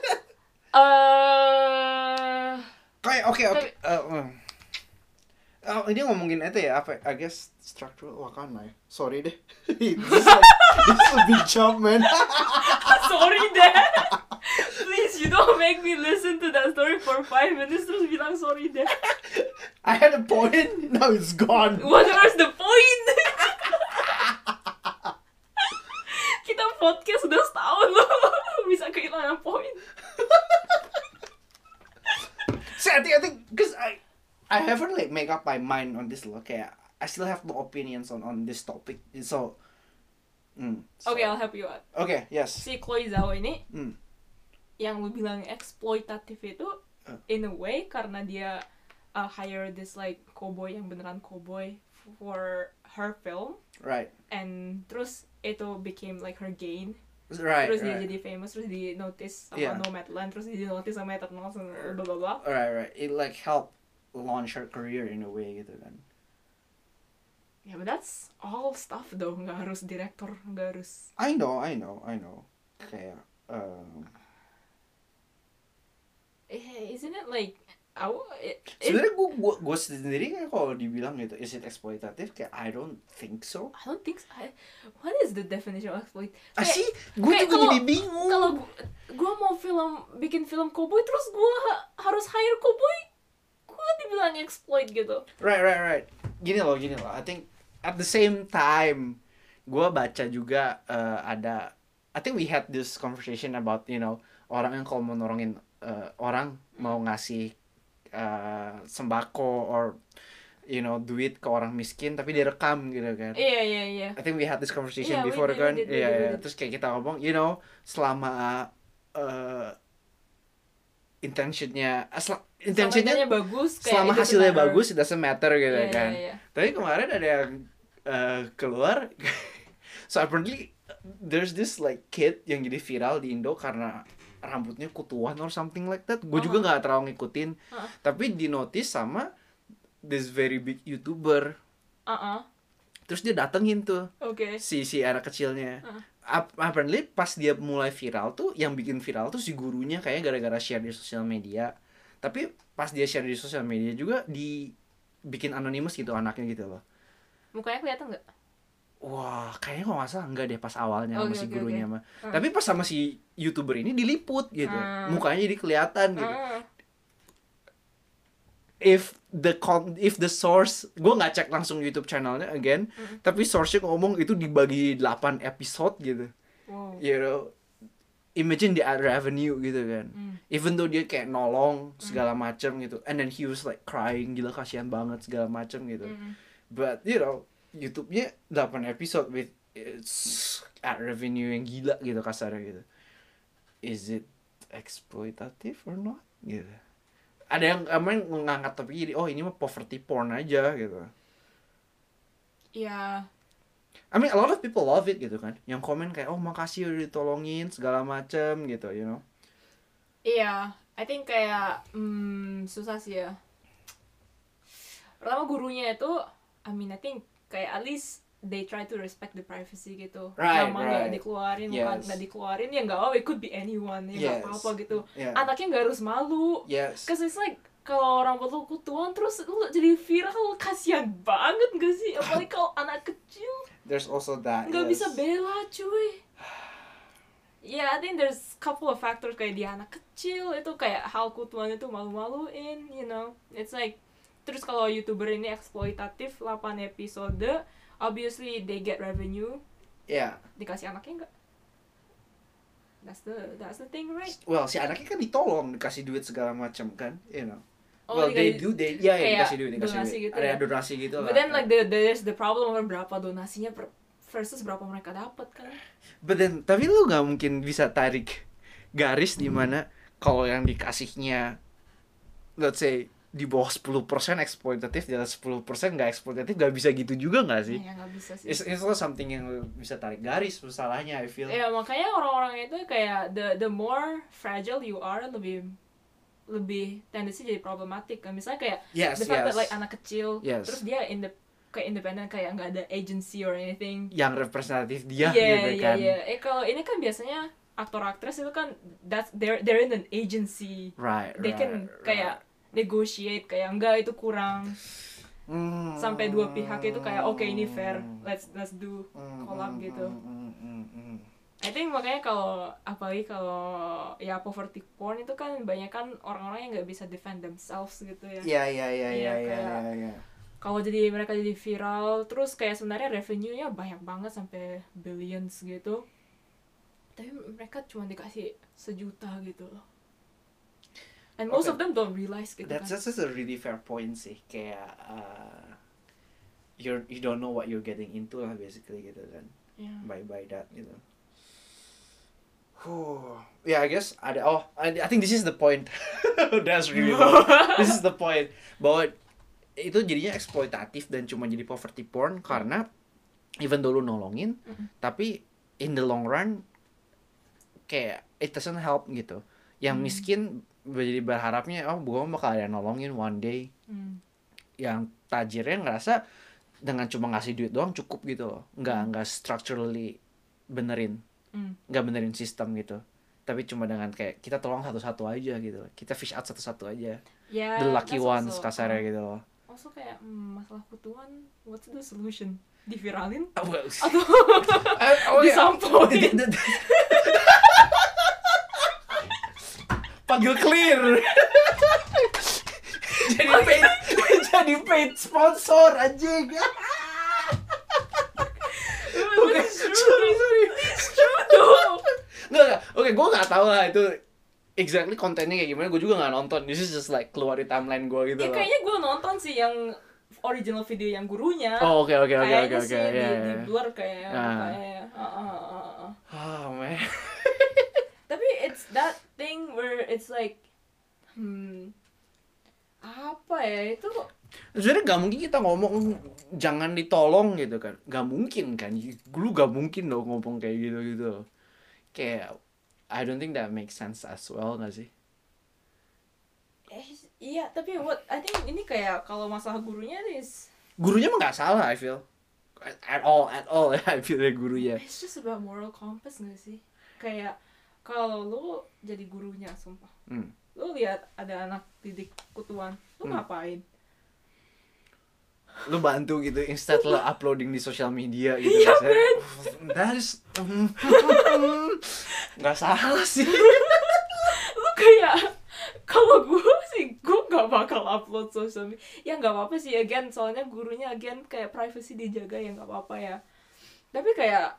uh, Kayak oke oke. Tapi- Uh, uh. Oh, ini ngomongin itu ya apa? I guess structural wakana ya. Sorry deh. this, is like, this is a big jump, man. sorry, Dad. Please, you don't make me listen to that story for five minutes. Terus bilang sorry, Dad. I had a point. Now it's gone. What was the point? Kita podcast udah setahun loh, bisa kehilangan poin. See, I think I think because I I haven't like make up my mind on this loh. Kayak I still have no opinions on on this topic. So Hmm, Oke, so- I'll help you out. Oke, yes. Si Chloe Zhao ini Hmm. yang lu bilang eksploitatif itu Uh. in a way karena dia uh, hire this like cowboy yang beneran cowboy for her film, Right. and terus itu became like her gain. Right. Terus dia right. jadi famous, terus di notice sama Yeah. Nomadland, terus di notice sama Eternal, bla bla bla. Right, right. It like helped launch her career in a way gitu kan. Ya, yeah, but that's all stuff though, nggak harus direktor, nggak harus. I know, I know, I know. Kayak um, Eh, isn't it like, I, it, it, sebenarnya gue gue gue sendiri kan kalau dibilang gitu, is it eksploitatif? Kayak I don't think so. I don't think so. I, what is the definition of exploit? Ah Kayak- sih, gue kayak juga kalau- jadi bingung. Kalau gue mau film bikin film cowboy terus gue harus hire cowboy, gue dibilang exploit gitu. Right, right, right. Gini loh, gini loh. I think at the same time, gue baca juga uh, ada, I think we had this conversation about, you know, orang yang kalau mau nolongin uh, orang mau ngasih uh, sembako or, you know, duit ke orang miskin, tapi direkam gitu kan. Iya iya iya. I think we had this conversation Yeah, we before did, we kan. did, we Iya, did, we iya. did. Terus kayak kita ngomong, you know, selama uh, intentionnya, asla, intentionnya Intentionnya bagus, kayak selama it doesn't hasilnya matter. bagus, it doesn't matter gitu Iya, kan. iya, iya. Tapi kemarin ada yang uh, keluar, so apparently there's this like kid yang jadi viral di Indo karena rambutnya kutuan or something like that. Gue juga Uh-huh. nggak terlalu ngikutin, Uh-huh. tapi di notice sama this very big YouTuber. Uh-uh. Terus dia datengin tuh Oke. si si anak kecilnya. Uh. Ap- apparently pas dia mulai viral tuh, yang bikin viral tuh si gurunya kayaknya gara-gara share di sosial media. Tapi pas dia share di sosial media juga dibikin anonymous gitu anaknya gitu loh. Mukanya kelihatan nggak? Wah, kayaknya kalau nggak salah enggak deh pas awalnya sama Oke, si oke, gurunya oke. mah. Uh. Tapi pas sama si YouTuber ini diliput gitu. Hmm. Mukanya jadi kelihatan gitu. Uh. If the con if the source, gue nggak cek langsung YouTube channelnya again, Mm. tapi source-nya ngomong itu dibagi delapan episode gitu. Wow. You know, imagine the ad revenue gitu kan. Mm. Even though dia kayak nolong segala macem gitu, and then he was like crying, gila kasihan banget segala macem gitu. Mm. But you know, YouTube-nya delapan episode with it's ad revenue yang gila gitu kasarnya gitu. Is it exploitative or not? Gitu. Ada yang emang ngangkat topik ini, oh ini mah poverty porn aja gitu. Ya, I mean a lot of people love it gitu kan. Yang komen kayak, oh makasih udah ditolongin segala macem gitu, you know. iya. I think kayak hmm, susah sih ya. Pertama gurunya itu, I mean I think kayak at least they try to respect the privacy gitu. Right, Nama nggak right. dikeluarin, bukan Yes. nggak dikeluarin ya nggak, oh it could be anyone, ya nggak Yes. apa-apa gitu. Yeah. Anaknya nggak harus malu. Yes. Cause it's like kalau orang lu kutuan terus lu jadi viral, kasihan banget gak sih? Apalagi kalau anak kecil There's also that. nggak yes. bisa bela cuy. Yeah, I think there's couple of factors kayak dia anak kecil itu kayak hal kutuan itu malu-maluin, you know. It's like terus kalau YouTuber ini eksploitatif delapan episode, obviously they get revenue, Yeah. dikasih anaknya enggak? That's the that's the thing, right? Well, si anaknya kan ditolong, dikasih duit segala macam kan, you know. Oh, well, they dikasih- do, they, yeah, yeah, kayak dikasih duit, dikasih donasi duit. gitu Ada ya. donasi gitu lah. But then like the there's the problem of berapa donasinya per, versus berapa mereka dapat kan? But then, tapi lu nggak mungkin bisa tarik garis di mana kalau yang dikasihnya, let's say di bawah sepuluh persen eksploitatif, di atas sepuluh persen nggak eksploitatif, nggak bisa gitu juga nggak sih? Ya nggak bisa sih. It's, it's also something yang lu bisa tarik garis masalahnya, I feel. Ya makanya orang-orang itu kayak the the more fragile you are, lebih lebih tendensi jadi problematik kan. Misalnya kayak Yes, the fact yes. that like anak kecil, Yes. terus dia in the kayak independen, kayak nggak ada agency or anything. Yang representatif dia Iya gitu iya kan. iya. Eh kalau ini kan biasanya aktor aktris itu kan that's they're they're in an agency. Right, They right, can kayak negotiate kayak enggak itu kurang. Hmm. Sampai dua pihak itu kayak oke ini fair, let's let's do Hmm, collab hmm, gitu. hmm, hmm, hmm. I think makanya kalau apalagi kalau ya poverty porn itu kan banyak kan orang-orang yang nggak bisa defend themselves gitu ya. Iya iya iya Iya, iya iya kayak- iya, iya. Kalau jadi mereka jadi viral terus kayak sebenarnya revenue-nya banyak banget sampai billions gitu. Tapi mereka cuma dikasih sejuta gitu loh. And most Okay. of them don't realize gitu That's kan. that's just a really fair point sih, kayak uh, you're you don't know what you're getting into lah basically gitu kan. Yeah. by by that gitu. Huh. Yeah, I guess ada. Oh, I, I think this is the point. That's really low. This is the point bahwa itu jadinya eksploitatif dan cuma jadi poverty porn karena even though lu nolongin, Mm-mm. tapi in the long run kayak it doesn't help gitu. Yang Mm. miskin jadi berharapnya oh gua bakal ada yang nolongin one day. Mm. Yang tajirnya ngerasa dengan cuma ngasih duit doang cukup gitu loh. Nggak Mm. nggak structurally benerin. Mm. Nggak benerin sistem gitu, tapi cuma dengan kayak kita tolong satu-satu aja gitu, kita fish out satu-satu aja, Yeah, the lucky that's ones also- kasarnya uh, gitu loh. Also kayak mm, masalah kutuan, what's the solution? Diviralin? Oh, well, Atau eh, oh, ya. disampoin? Panggil clear. Jadi paid, jadi paid sponsor anjing. Oke, sorry sorry. Tuh. Nggak, nggak. Oke, gue nggak tahu lah itu exactly kontennya kayak gimana. Gue juga nggak nonton. This is just like keluar di timeline gue gitu Ya loh. kayaknya gue nonton sih yang original video yang gurunya. Oh, oke oke oke oke Kayaknya oke. sih di, Ya, di ya. blur kayak Ah. kayak uh, uh, uh, uh. Oh man. Tapi it's that thing where it's like hmm apa ya itu Sebenarnya gak mungkin kita ngomong jangan ditolong gitu kan. Gak mungkin kan. Lu gak mungkin dong ngomong kayak gitu-gitu. Kayak I don't think that makes sense as well gak sih? eh iya tapi what I think ini kayak kalau masalah gurunya is Gurunya mah gak salah I feel. At all, at all I feel dari gurunya. it's just about moral compass gak sih? Kayak kalau lu jadi gurunya sumpah. Hmm. Lu lihat ada anak didik kutuan, lu Hmm. ngapain? Lu bantu gitu instead lo uploading di sosial media gitu. Iya, kan. That is gak salah sih. Lu kayak kalau gue sih gue nggak bakal upload social media ya nggak apa-apa sih again soalnya gurunya again kayak privacy dijaga ya nggak apa-apa ya tapi kayak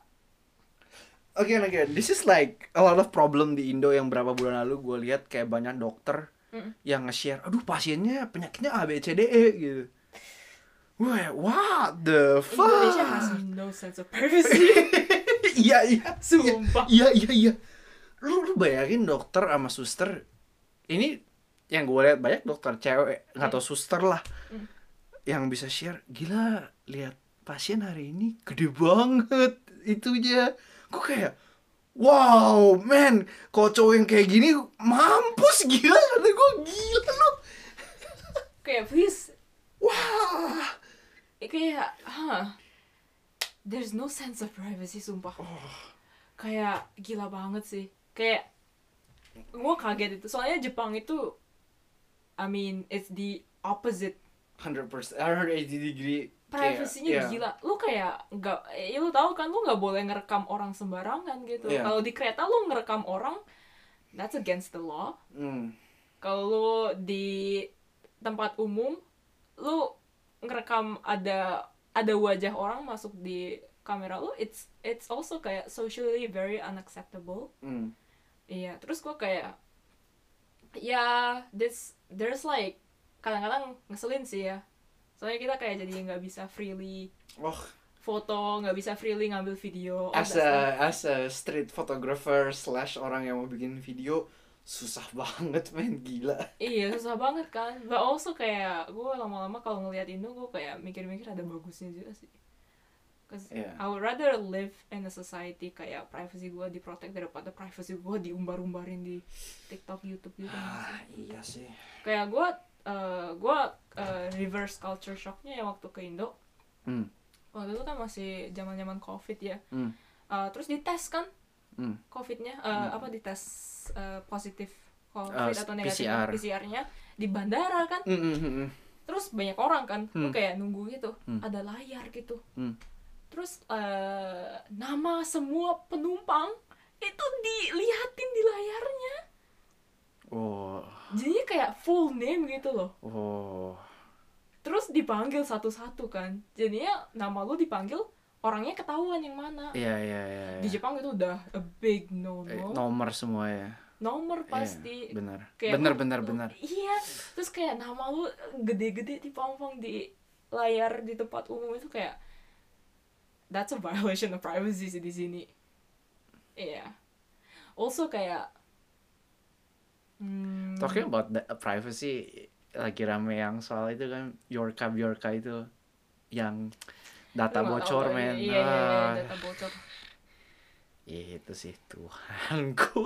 Again again, this is like a lot of problem di Indo yang berapa bulan lalu gue lihat kayak banyak dokter Mm. yang nge-share, aduh pasiennya penyakitnya A B C D E gitu. Wah, what the fuck? Indonesia has no sense of privacy. Iya iya. Sumpah. Iya iya iya. Lu lu bayangin dokter sama suster. Ini yang gue lihat banyak dokter cewek, nggak tau suster lah. Mm. Yang bisa share, gila lihat pasien hari ini gede banget itunya. Gue kayak wow, man, kalau cowok yang kayak gini mampus gila, kata gue gila lu. Kayak please Wah. kayak huh, there's no sense of privacy sumpah. Kayak gila banget sih. Kayak gue kaget itu soalnya Jepang itu I mean it's the opposite. one hundred percent, one hundred eighty degree. Privasinya kayak, gila. Lu kayak nggak, ya lu tahu kan lu nggak boleh ngerekam orang sembarangan gitu. Iya. Kalau di kereta lu ngerekam orang, that's against the law. Yeah. Hmm. Kalau lu di tempat umum, lu ngerekam ada ada wajah orang masuk di kamera lu, it's it's also kayak socially very unacceptable. Hmm. Iya, terus gua kayak ya this there's like kadang-kadang ngeselin sih ya. Soalnya kita kayak jadi nggak bisa freely Oh, foto, nggak bisa freely ngambil video. all as that stuff. a as a street photographer slash orang yang mau bikin video susah banget men, gila. Iya, susah banget kan. But also kayak gue lama-lama kalau ngeliat Indo gue kayak mikir-mikir ada bagusnya juga sih. Cause Yeah. I would rather live in a society kayak privacy gue diprotect daripada privacy gue diumbar-umbarin di TikTok, YouTube gitu. Ah, iya sih. Kayak gue uh, gue uh, reverse culture shocknya ya waktu ke Indo. Hmm. Waktu itu kan masih zaman-zaman COVID ya. Hmm. Uh, terus dites kan Hmm. COVID-nya, uh, Hmm. apa dites uh, positif COVID Uh, atau negatif P C R. P C R-nya di bandara kan. Hmm, hmm, hmm, hmm. Terus banyak orang kan, lu Hmm. kayak nunggu gitu, Hmm. ada layar gitu. Hmm. Terus uh, nama semua penumpang itu dilihatin di layarnya. Oh. Jadinya kayak full name gitu loh. Oh. Terus dipanggil satu-satu kan. Jadinya nama lu dipanggil, orangnya ketahuan yang mana. Iya iya iya. Di Jepang itu udah a big no Eh, no. nomor semua ya. Nomor pasti. Iya, benar. Kayak Benar lu- benar lu- benar. Iya. Terus kayak nama lu gede-gede dipampang di layar di tempat umum itu kayak that's a violation of privacy sih di sini. Iya. Yeah. Also kayak hmm, Talking about the privacy, lagi rame yang soal itu kan, Yorka Bjorka itu yang data lu nggak tahu bocor tuh, men. iya, iya, iya, Ah, data bocor. itu sih Tuhanku.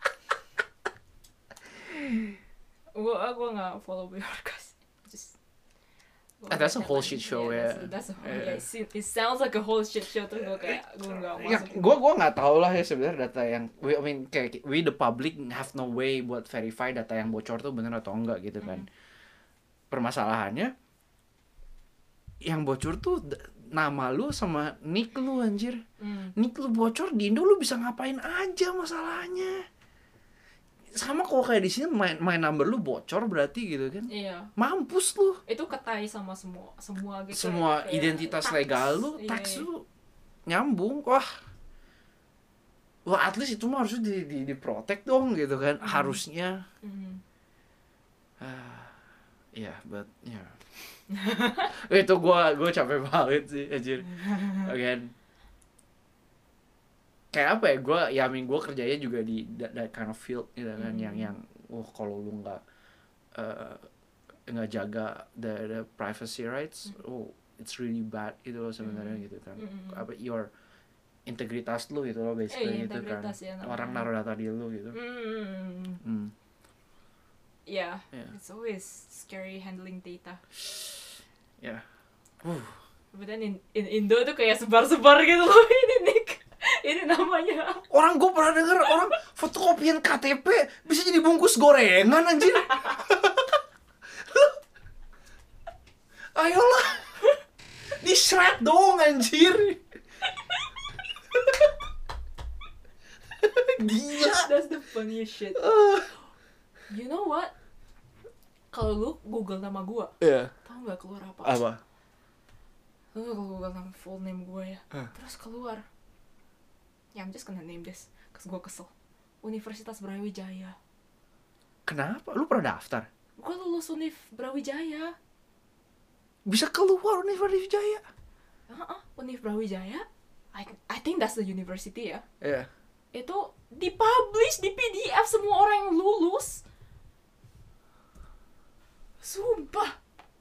Gua gua nggak follow Bjorka sih. Just Ah, that's a whole shit show, yeah, ya. that's, that's a whole, Yeah. yeah, it, se- it sounds like a whole shit show terus gua kayak gua nggak Ya, masuk. gua gua nggak tahu lah ya sebenarnya data yang we, I mean kayak we the public have no way buat verify data yang bocor tuh bener atau enggak gitu kan. Permasalahannya yang bocor tuh d- nama lu sama nick lu anjir. Hmm. Nick lu bocor di Indo lu bisa ngapain aja masalahnya. Sama kok kayak di sini main main number lu bocor berarti gitu kan. Iya. Mampus lu. Itu ketai sama semua semua gitu. Semua kayak identitas tax. legal lu, Iya, tax iya. lu nyambung. Wah. Wah, at least itu mah harusnya di di, di protect dong gitu kan. Hmm. Harusnya. Hmm. Ah, yeah, but yeah. Itu gua gua capek banget sih anjir. Again. Kayak apa ya, gue ya amin gue kerjanya juga di that, that kind of field gitu kan, Mm. yang yang oh kalau lu nggak uh, nggak jaga the, the privacy rights, Mm. oh it's really bad gitu loh sebenarnya Mm. gitu kan. Mm. Apa your integritas lu gitu loh basically Eh, gitu kan, integritas ya namanya. orang naruh data di lu gitu. Hmm. Hmm. Yeah, Yeah. it's always scary handling data. Ya. Uh. But then in, in Indo tuh kayak sebar-sebar gitu loh ini Nick. Ini namanya. Orang gue pernah denger orang fotokopian K T P bisa jadi bungkus gorengan anjir. Ayolah. Di shred dong anjir. Gila. That's the funniest shit. Uh. You know what? Kalau lu Google nama gua, Ya. tau nggak keluar apa? Apa? Lu kalau Google nama full name gua ya, Huh. terus keluar. Ya, I'm just gonna name this, cause gua kesel. Universitas Brawijaya. Kenapa? Lu pernah daftar? Gua lulus Univ Brawijaya. Bisa keluar Universitas Jaya? Heeh, Univ Brawijaya. I I think that's the university ya. Iya. Itu dipublish di P D F semua orang yang lulus. Sumpah.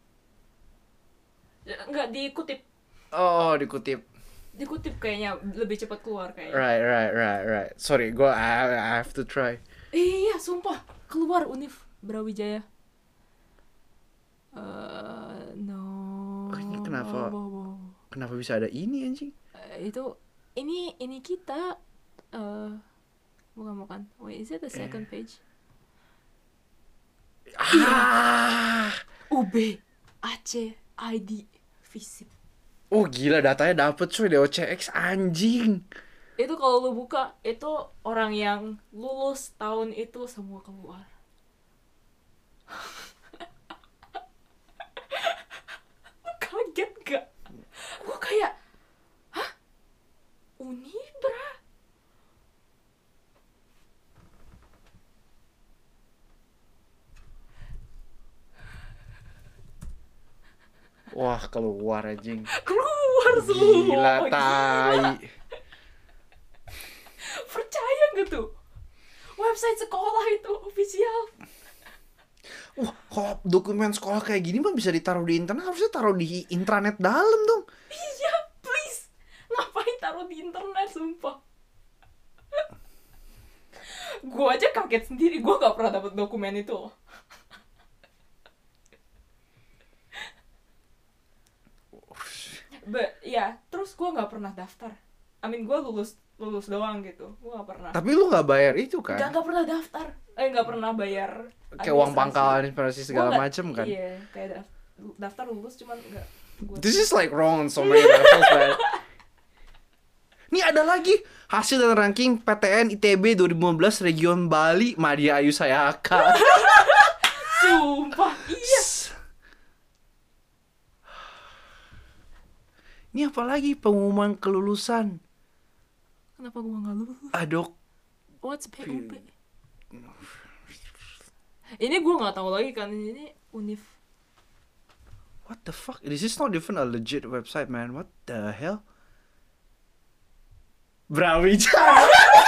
Nggak dikutip. Oh, dikutip. Dikutip kayaknya lebih cepat keluar kayaknya. Right, right, right, right. Sorry, gua I, I have to try. Iya, sumpah. Keluar Univ Brawijaya. Uh, no. Oh, ini kenapa? Wow, wow, wow. Kenapa bisa ada ini anjing? Eh, itu ini ini kita eh bukan bukan. Wait, is it the second page? Ah. U B, Aceh, I D, Visip. Oh gila, datanya dapet cuy, D O C X anjing. Itu kalau lu buka, itu orang yang lulus tahun itu semua keluar. Lu kaget gak? Gua kayak, hah? Unibra? Wah, keluar anjing. Keluar semua. Gila tai. Percaya gak tuh? Website sekolah itu official. Wah, kalau dokumen sekolah kayak gini mah bisa ditaruh di internet, harusnya taruh di intranet dalam dong. Iya, please. Ngapain taruh di internet, sumpah. Gue aja kaget sendiri, gue gak pernah dapet dokumen itu. But, ya, terus gue gak pernah daftar. I mean, gue lulus lulus doang gitu. Gue gak pernah. Tapi lu nggak bayar itu kan? Gak, gak pernah daftar. Eh, gak pernah bayar. Kayak uang administrasi. pangkalan, administrasi segala Gua nggak- macem kan? Iya, kayak daf- daftar lulus cuman gak. Gua This is like wrong on so many levels, man. Nih ada lagi hasil dan ranking P T N I T B dua ribu lima belas Region Bali Madya Ayu Sayaka. Sumpah, iya. Ini apa lagi pengumuman kelulusan? Kenapa gue gak lulus? Adok. What's P U P? Ini gue gak tahu lagi kan, ini Univ. What the fuck? This is not even a legit website, man. What the hell? Brawijaya.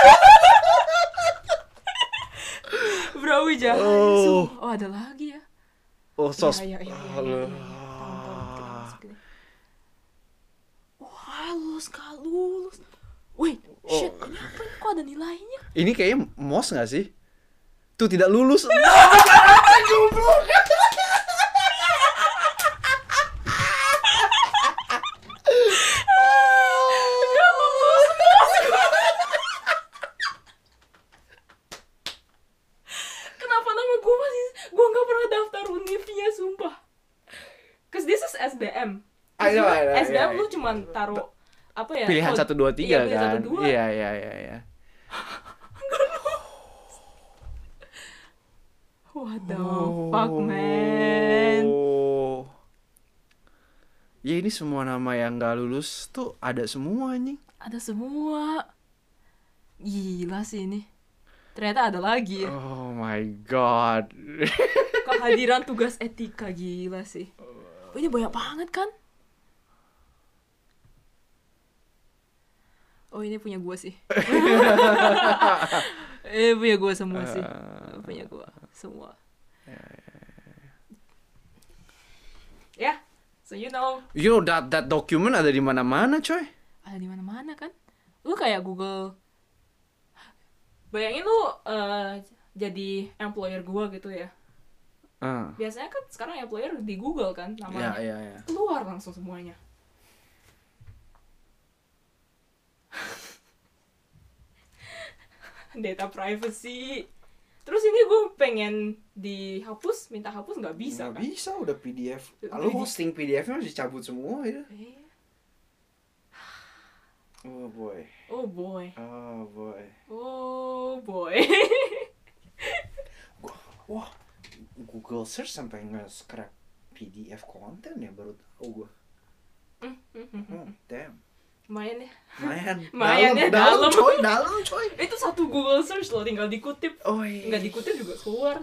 Brawijaya. Oh. Oh, ada lagi ya. Oh, sos. Iya, iya, iya, iya, iya, iya. Tahun-tahun kita masuk ini. Wah, lulus gak lulus. Wait, shit, Oh. ini apa ini? Kok ada nilainya? Ini kayaknya M O S nggak sih? Tuh tidak lulus. Gak lulus. Kenapa nama gue masih... Gue gak pernah daftar univnya, sumpah. Cause this is S B M. I know, I know, S B M yeah. lu cuman taruh apa ya? Pilihan code- satu dua tiga iya, pilihan kan? satu, dua. Iya iya iya iya. What the fuck, man? Oh. Ya ini semua nama yang gak lulus tuh ada semua anjing. Ada semua. Gila sih ini. Ternyata ada lagi ya. Oh my god. Kehadiran tugas etika, gila sih. Oh, ini banyak banget kan? Oh, ini punya gua sih. Eh, punya gua semua sih. Punya gua semua. Ya, so you know, You know that that document ada di mana-mana, coy. ada di mana-mana kan? Lu kayak Google. Bayangin lu eh, jadi employer gua gitu ya. Ah. Biasanya kan sekarang employer di Google kan Ya namanya. ya ya. Keluar langsung semuanya. Data privacy. Terus ini gue pengen dihapus, minta hapus nggak bisa Nggak kan? bisa udah P D F. Udah Lalu di- hosting P D F-nya harus dicabut semua ya. Eh, Oh boy. Oh boy, Oh boy. oh boy. Wah, Google search sampai nge-scrap P D F konten ya, baru tahu gua. Oh, damn. Lumayan ya. Lumayan. Lumayan ya, dalam, dalam. coy, dalam coy. Itu satu Google search loh, tinggal dikutip. Oh, iya. Nggak dikutip juga keluar.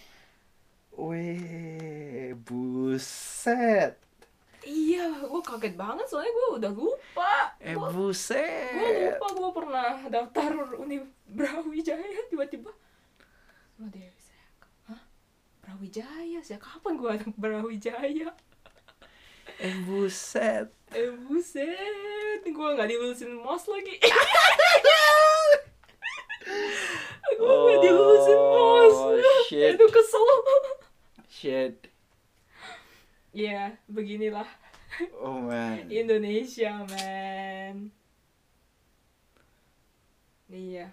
Weh, buset. Iya, gue kaget banget soalnya gue udah lupa. Eh, Gua- buset. Gue lupa gue pernah daftar Univ Brawijaya tiba-tiba. Lo Dewi saya, hah? Brawijaya? Sejak kapan gue ada Brawijaya? Eh, buset. Eh buset, gue gak dilulusin M O S lagi. Gue gak dilulusin M O S. Oh, shit. Itu kesel. Shit. Ya, beginilah Oh man. Indonesia, man. Iya.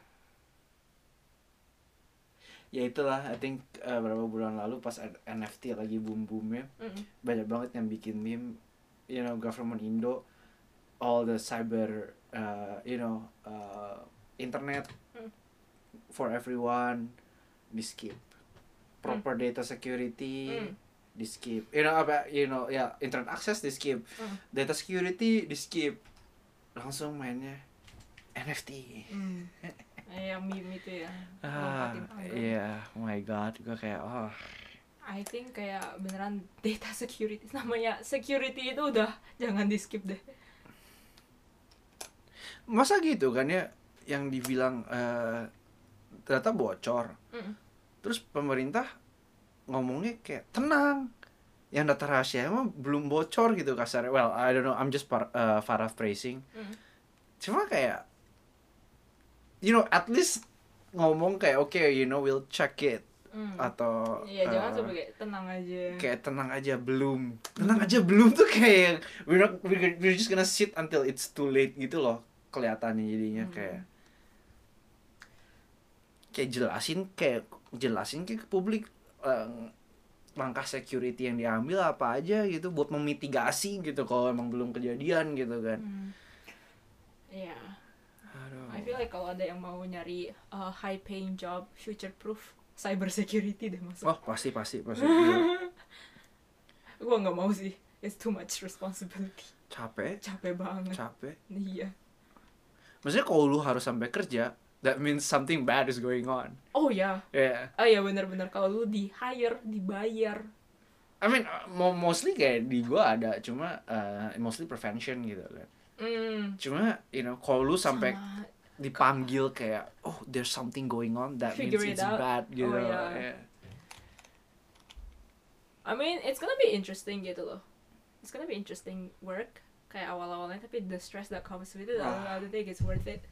Ya itulah, I think uh, berapa bulan lalu pas N F T lagi boom-boomnya, Mm-mm. banyak banget yang bikin meme, you know, government Indo, all the cyber, uh, you know, uh, internet Mm. for everyone, di skip, proper data security, Mm. di skip, you know apa, you know, ya internet access di skip, Mm. data security di skip, langsung mainnya N F T. Mm. Eh, yang meme itu ya. Ah, lompatin tangga. iya, oh my god, gue kayak, oh. I think kayak beneran data security, namanya security itu udah jangan di skip deh. Masa gitu kan ya, yang dibilang eh, ternyata bocor. Mm. Terus pemerintah ngomongnya kayak tenang, yang data rahasia emang belum bocor gitu kasarnya. Well, I don't know, I'm just par, uh, paraphrasing. Mm. Cuma kayak, you know, at least ngomong kayak oke, okay, you know, we'll check it. Mm. Atau Iya, jangan eh, sampai kayak tenang aja. kayak tenang aja belum, tenang aja belum tuh kayak we're not, we're, we're just gonna sit until it's too late gitu loh kelihatannya jadinya. Hmm. kayak kayak jelasin kayak jelasin ke publik eh, langkah security yang diambil apa aja gitu buat memitigasi gitu kalau emang belum kejadian gitu kan. Mm. Iya. Aduh. I feel like kalau ada yang mau nyari uh, high paying job, future proof, cyber security deh masuk. Oh pasti pasti pasti. Gila. Gua nggak mau sih, it's too much responsibility. Capek Capek banget. capek. Iya. Maksudnya kalau lu harus sampai kerja, that means something bad is going on. Oh ya. Yeah. Oh iya benar-benar kalau lu di hire, dibayar. I mean, uh, mo- mostly kayak di gua ada, cuma uh, mostly prevention gitu kan. Hmm. Cuma, you know, kalau lu sampai Sama dipanggil kayak oh there's something going on that Figure means it it's out. bad gitu. Oh, yeah. Yeah. I mean, it's gonna be interesting gitu loh. It's gonna be interesting work kayak awal-awalnya, tapi the stress that comes with it, I don't, I don't think it's worth it.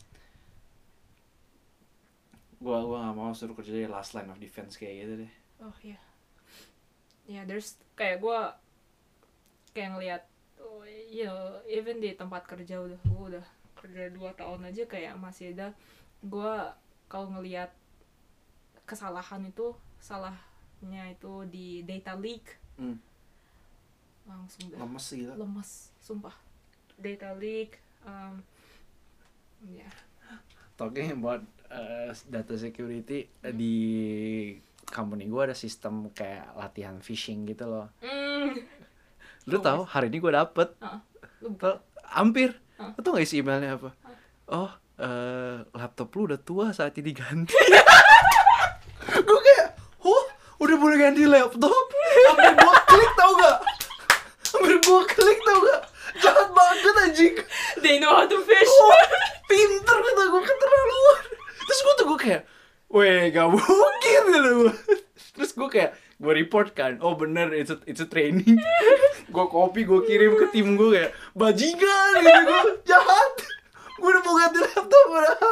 Gua gua nggak mau suruh kerja di last line of defense kayak gitu deh. Oh iya. Yeah. Ya, yeah, there's kayak gue kayak ngelihat, oh, you know, even di tempat kerja udah gue udah kerja dua tahun aja kayak masih ada gue kalau ngelihat kesalahan itu salahnya itu di data leak. Hmm. Langsung dah Lemes gitu. lemes, sumpah. Data leak, um, ya. Yeah. Talking about uh, data security, hmm. di company gue ada sistem kayak latihan phishing gitu loh. Mm. Lu oh, tahu hari ini gue dapet, uh, Tau, hampir. Uh. Lu tau gak isi emailnya apa? Uh. Oh, uh, laptop lu udah tua saat ini ganti. Gue kayak, oh, udah boleh ganti laptop. Sampai gue klik tau gak? Sampai gue klik tau gak? Jahat banget anjing. They know how to fish. Oh, pinter kata gue, keterlaluan. Terus gue tuh gue kayak, weh gak mungkin gitu. Terus gue kayak gue report kan, oh bener it's a, it's a training. Gue copy, gue kirim ke tim gue kayak bajingan gitu, gue jahat. Gue udah mau ganti laptop padahal.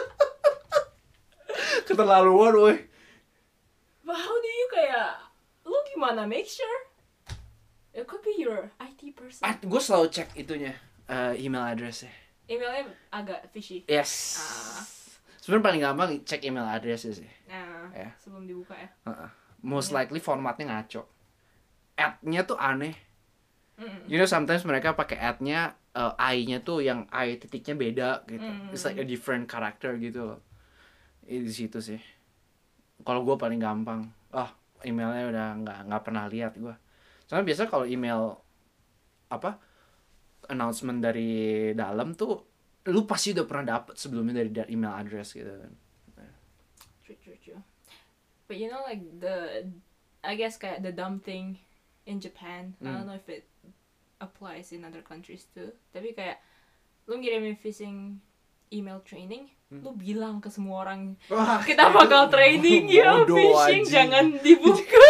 Keterlaluan weh. But how do you kayak, lu gimana make sure? It could be your I T person. Ah, gue selalu cek itunya, uh, email address-nya. Emailnya agak fishy. Yes. Ah. Sebenarnya paling gampang cek email address sih. Nah, ya. Sebelum dibuka ya. Uh-uh. Most likely formatnya ngaco. Ad-nya tuh aneh. Mm. You know sometimes mereka pakai ad-nya uh, I-nya tuh yang I titiknya beda gitu. Mm. It's like a different character gitu loh. Di situ sih. Kalau gue paling gampang. Oh, emailnya udah nggak nggak pernah lihat gue. Soalnya biasa kalau email apa announcement dari dalam tuh lu pasti udah pernah dapet sebelumnya dari, dari email address gitu kan. True, true, true. But you know like the, I guess kayak the dumb thing in Japan, mm. I don't know if it applies in other countries too. Tapi kayak lu ngirimin phishing email training, mm. lu bilang ke semua orang, wah, kita bakal training ya phishing, aja. Jangan dibuka.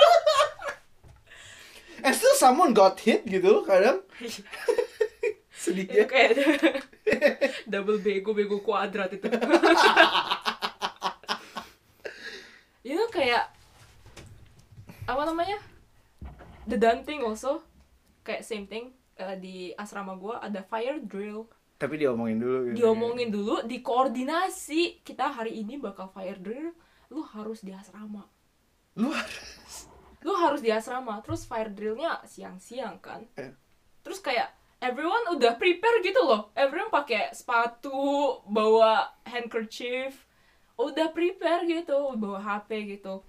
And still someone got hit gitu kadang. Sedikit. Itu kayak double bego, bego kuadrat itu. You know kayak apa namanya? The done thing also kayak same thing uh, di asrama gua ada fire drill. Tapi diomongin dulu gitu. Diomongin dulu, dikoordinasi. Kita hari ini bakal fire drill, lu harus di asrama. Lu harus Lu harus di asrama. Terus fire drillnya siang-siang kan. Eh. Terus kayak everyone udah prepare gitu loh. Everyone pakai sepatu, bawa handkerchief, udah prepare gitu, bawa H P gitu.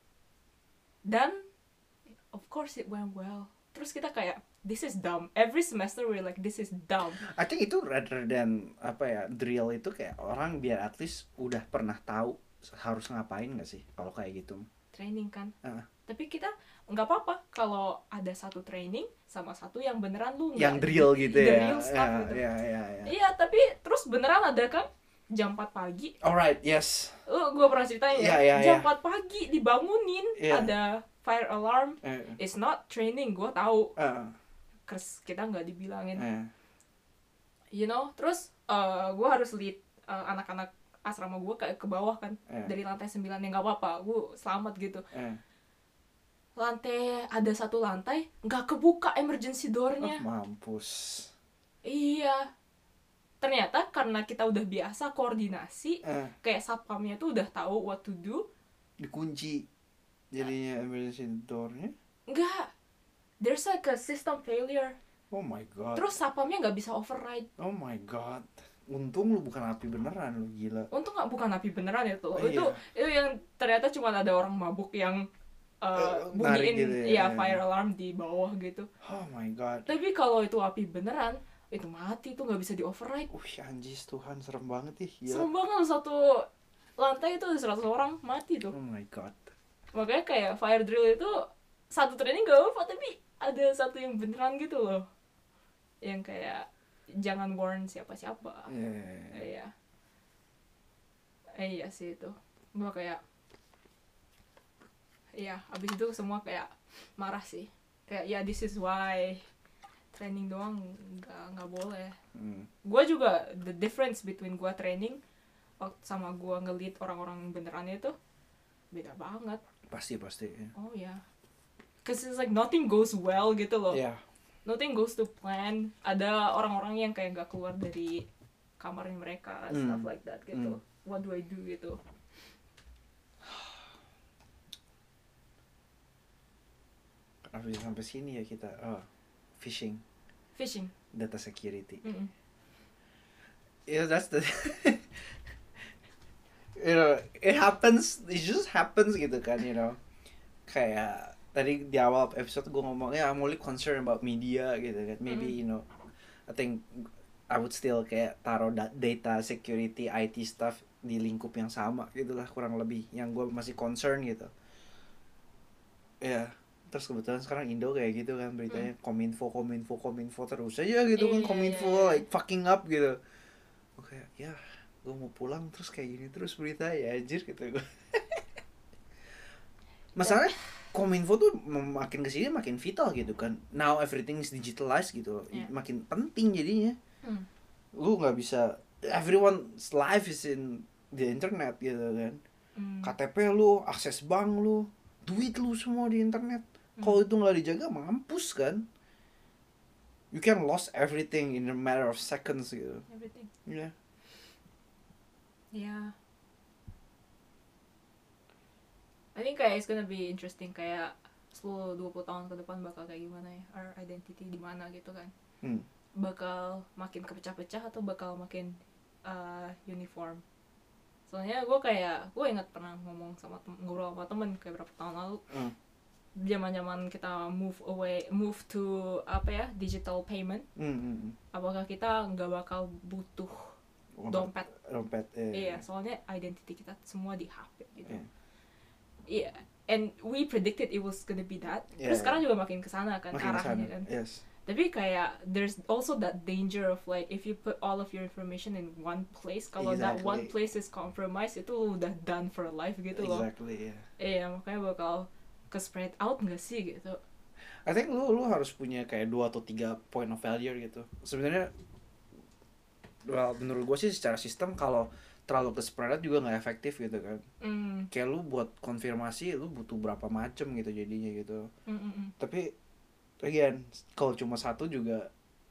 Dan of course it went well. Terus kita kayak this is dumb. Every semester we're like this is dumb. I think itu rather than apa ya, drill itu kayak orang biar at least udah pernah tahu harus ngapain nggak sih kalau kayak gitu. Training kan. Uh. Tapi kita nggak apa-apa kalau ada satu training sama satu yang beneran lu yang drill gitu the ya. real stuff ya, gitu. ya, ya, ya. Iya, tapi terus beneran ada kan jam empat pagi. Alright, yes. Lu gua pernah ceritain ya. Yeah, yeah, jam yeah. empat pagi dibangunin, yeah. Ada fire alarm. Uh. It's not training, gua tahu. Uh. Terus kita nggak dibilangin. Uh. You know, terus uh, gua harus lead uh, anak-anak asrama gua ke ke bawah kan. Uh. Dari lantai sembilan, ya nggak apa-apa, gua selamat gitu. Uh. Lantai ada satu lantai nggak kebuka emergency door-nya. Oh, mampus. Iya. Ternyata karena kita udah biasa koordinasi, eh. kayak satpamnya tuh udah tahu what to do. Dikunci jadinya emergency door-nya? Enggak. There's like a system failure. Oh my god. Terus satpamnya nggak bisa override. Oh my god. Untung lu bukan api beneran, lu gila. Untung nggak bukan api beneran itu. Oh, itu iya. itu yang ternyata cuma ada orang mabuk yang Uh, bunyiin gitu ya, ya fire alarm di bawah gitu. Oh my god. Tapi kalau itu api beneran, itu mati tuh nggak bisa di override. Uh, anjis Tuhan, serem banget ih. Gila. Serem banget, satu lantai itu ada seratus orang mati tuh. Oh my god. Makanya kayak fire drill itu satu training gak apa, tapi ada satu yang beneran gitu loh. Yang kayak jangan warn siapa-siapa. Yeah. Iya. Eh, iya sih itu. Gue kayak iya, abis itu semua kayak marah sih. Kayak ya this is why training doang nggak nggak boleh. Hmm. Gue juga the difference between gue training sama gue nge-lead orang-orang beneran itu beda banget. Pasti pasti. Yeah. Oh ya. Yeah. Cause it's like nothing goes well gitu loh. Yeah. Nothing goes to plan. Ada orang-orang yang kayak nggak keluar dari kamarnya mereka, mm. stuff like that gitu. Mm. What do I do gitu? Kenapa bisa sampai sini ya kita? Oh, phishing. Phishing. Data security. Mm-mm. Yeah, that's the. You know, it happens. It just happens gitu kan, you know. Kayak tadi di awal episode gue ngomongnya I'm only concerned about media gitu kan. Maybe mm. you know, I think I would still kayak taruh data security I T stuff di lingkup yang sama gitulah kurang lebih yang gue masih concern gitu. Ya, yeah. Terus kebetulan sekarang Indo kayak gitu kan beritanya mm. kominfo kominfo kominfo terus aja gitu kan, kominfo yeah, yeah. like fucking up gitu. Oke, okay, ya gue mau pulang terus kayak gini terus berita ya anjir gitu gue. Masalahnya kominfo tuh makin kesini makin vital gitu kan. Now everything is digitalized gitu, yeah. makin penting jadinya. Hmm. Lu nggak bisa, everyone's life is in the internet gitu kan. Hmm. K T P lu, akses bank lu, duit lu semua di internet. Hmm. Kalau itu nggak dijaga mampus kan. You can lose everything in a matter of seconds gitu. Everything. Yeah. Yeah. I think kayak it's gonna be interesting kayak sepuluh dua puluh tahun ke depan bakal kayak gimana ya, our identity di mana gitu kan. Hmm. Bakal makin kepecah-pecah atau bakal makin uh, uniform. Soalnya gue kayak gue ingat pernah ngomong sama tem- ngobrol sama temen kayak berapa tahun lalu. Hmm. Zaman-zaman kita move away, move to apa ya, digital payment. Hmm. Apakah kita nggak bakal butuh dompet? Dompet. Eh. Iya, soalnya identity kita semua di H P gitu. Yeah. Iya, yeah. And we predicted it was gonna be that. Yeah. Terus sekarang juga makin kesana kan makin arahnya kesana. Kan. Yes. Tapi kayak there's also that danger of like if you put all of your information in one place, kalau exactly. that one place is compromised itu udah done for life gitu loh. Exactly, yeah. Iya, makanya bakal ke spread out nggak sih gitu. I think lu lu harus punya kayak dua atau tiga point of failure gitu. Sebenarnya, well, menurut gue sih secara sistem kalau terlalu ke spread out juga nggak efektif gitu kan. Mm. Kayak lu buat konfirmasi lu butuh berapa macam gitu jadinya gitu. Mm-mm. Tapi again kalau cuma satu juga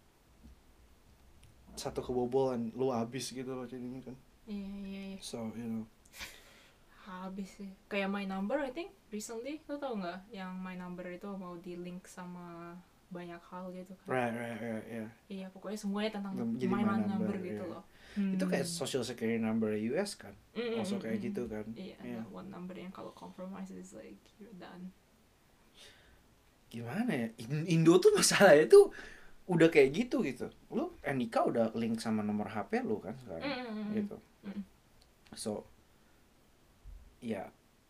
satu kebobolan lu habis gitu loh jadinya kan. Iya yeah, iya yeah, iya. Yeah. So you know. Habis sih. Kayak My Number I think recently lu tau nggak yang My Number itu mau di link sama banyak hal gitu kan. Right right right yeah. Iya pokoknya semuanya tentang My, my Number, number gitu yeah. loh. Hmm. Itu kayak social security number U S kan, mm-hmm. also kayak gitu kan. Iya, yeah, yeah. One number yang kalau compromise is like you're done. Gimana ya? Indo tuh masalahnya tuh udah kayak gitu gitu. Lu N I K udah link sama nomor H P lu kan sekarang, mm-hmm. gitu. Mm-hmm. So, ya,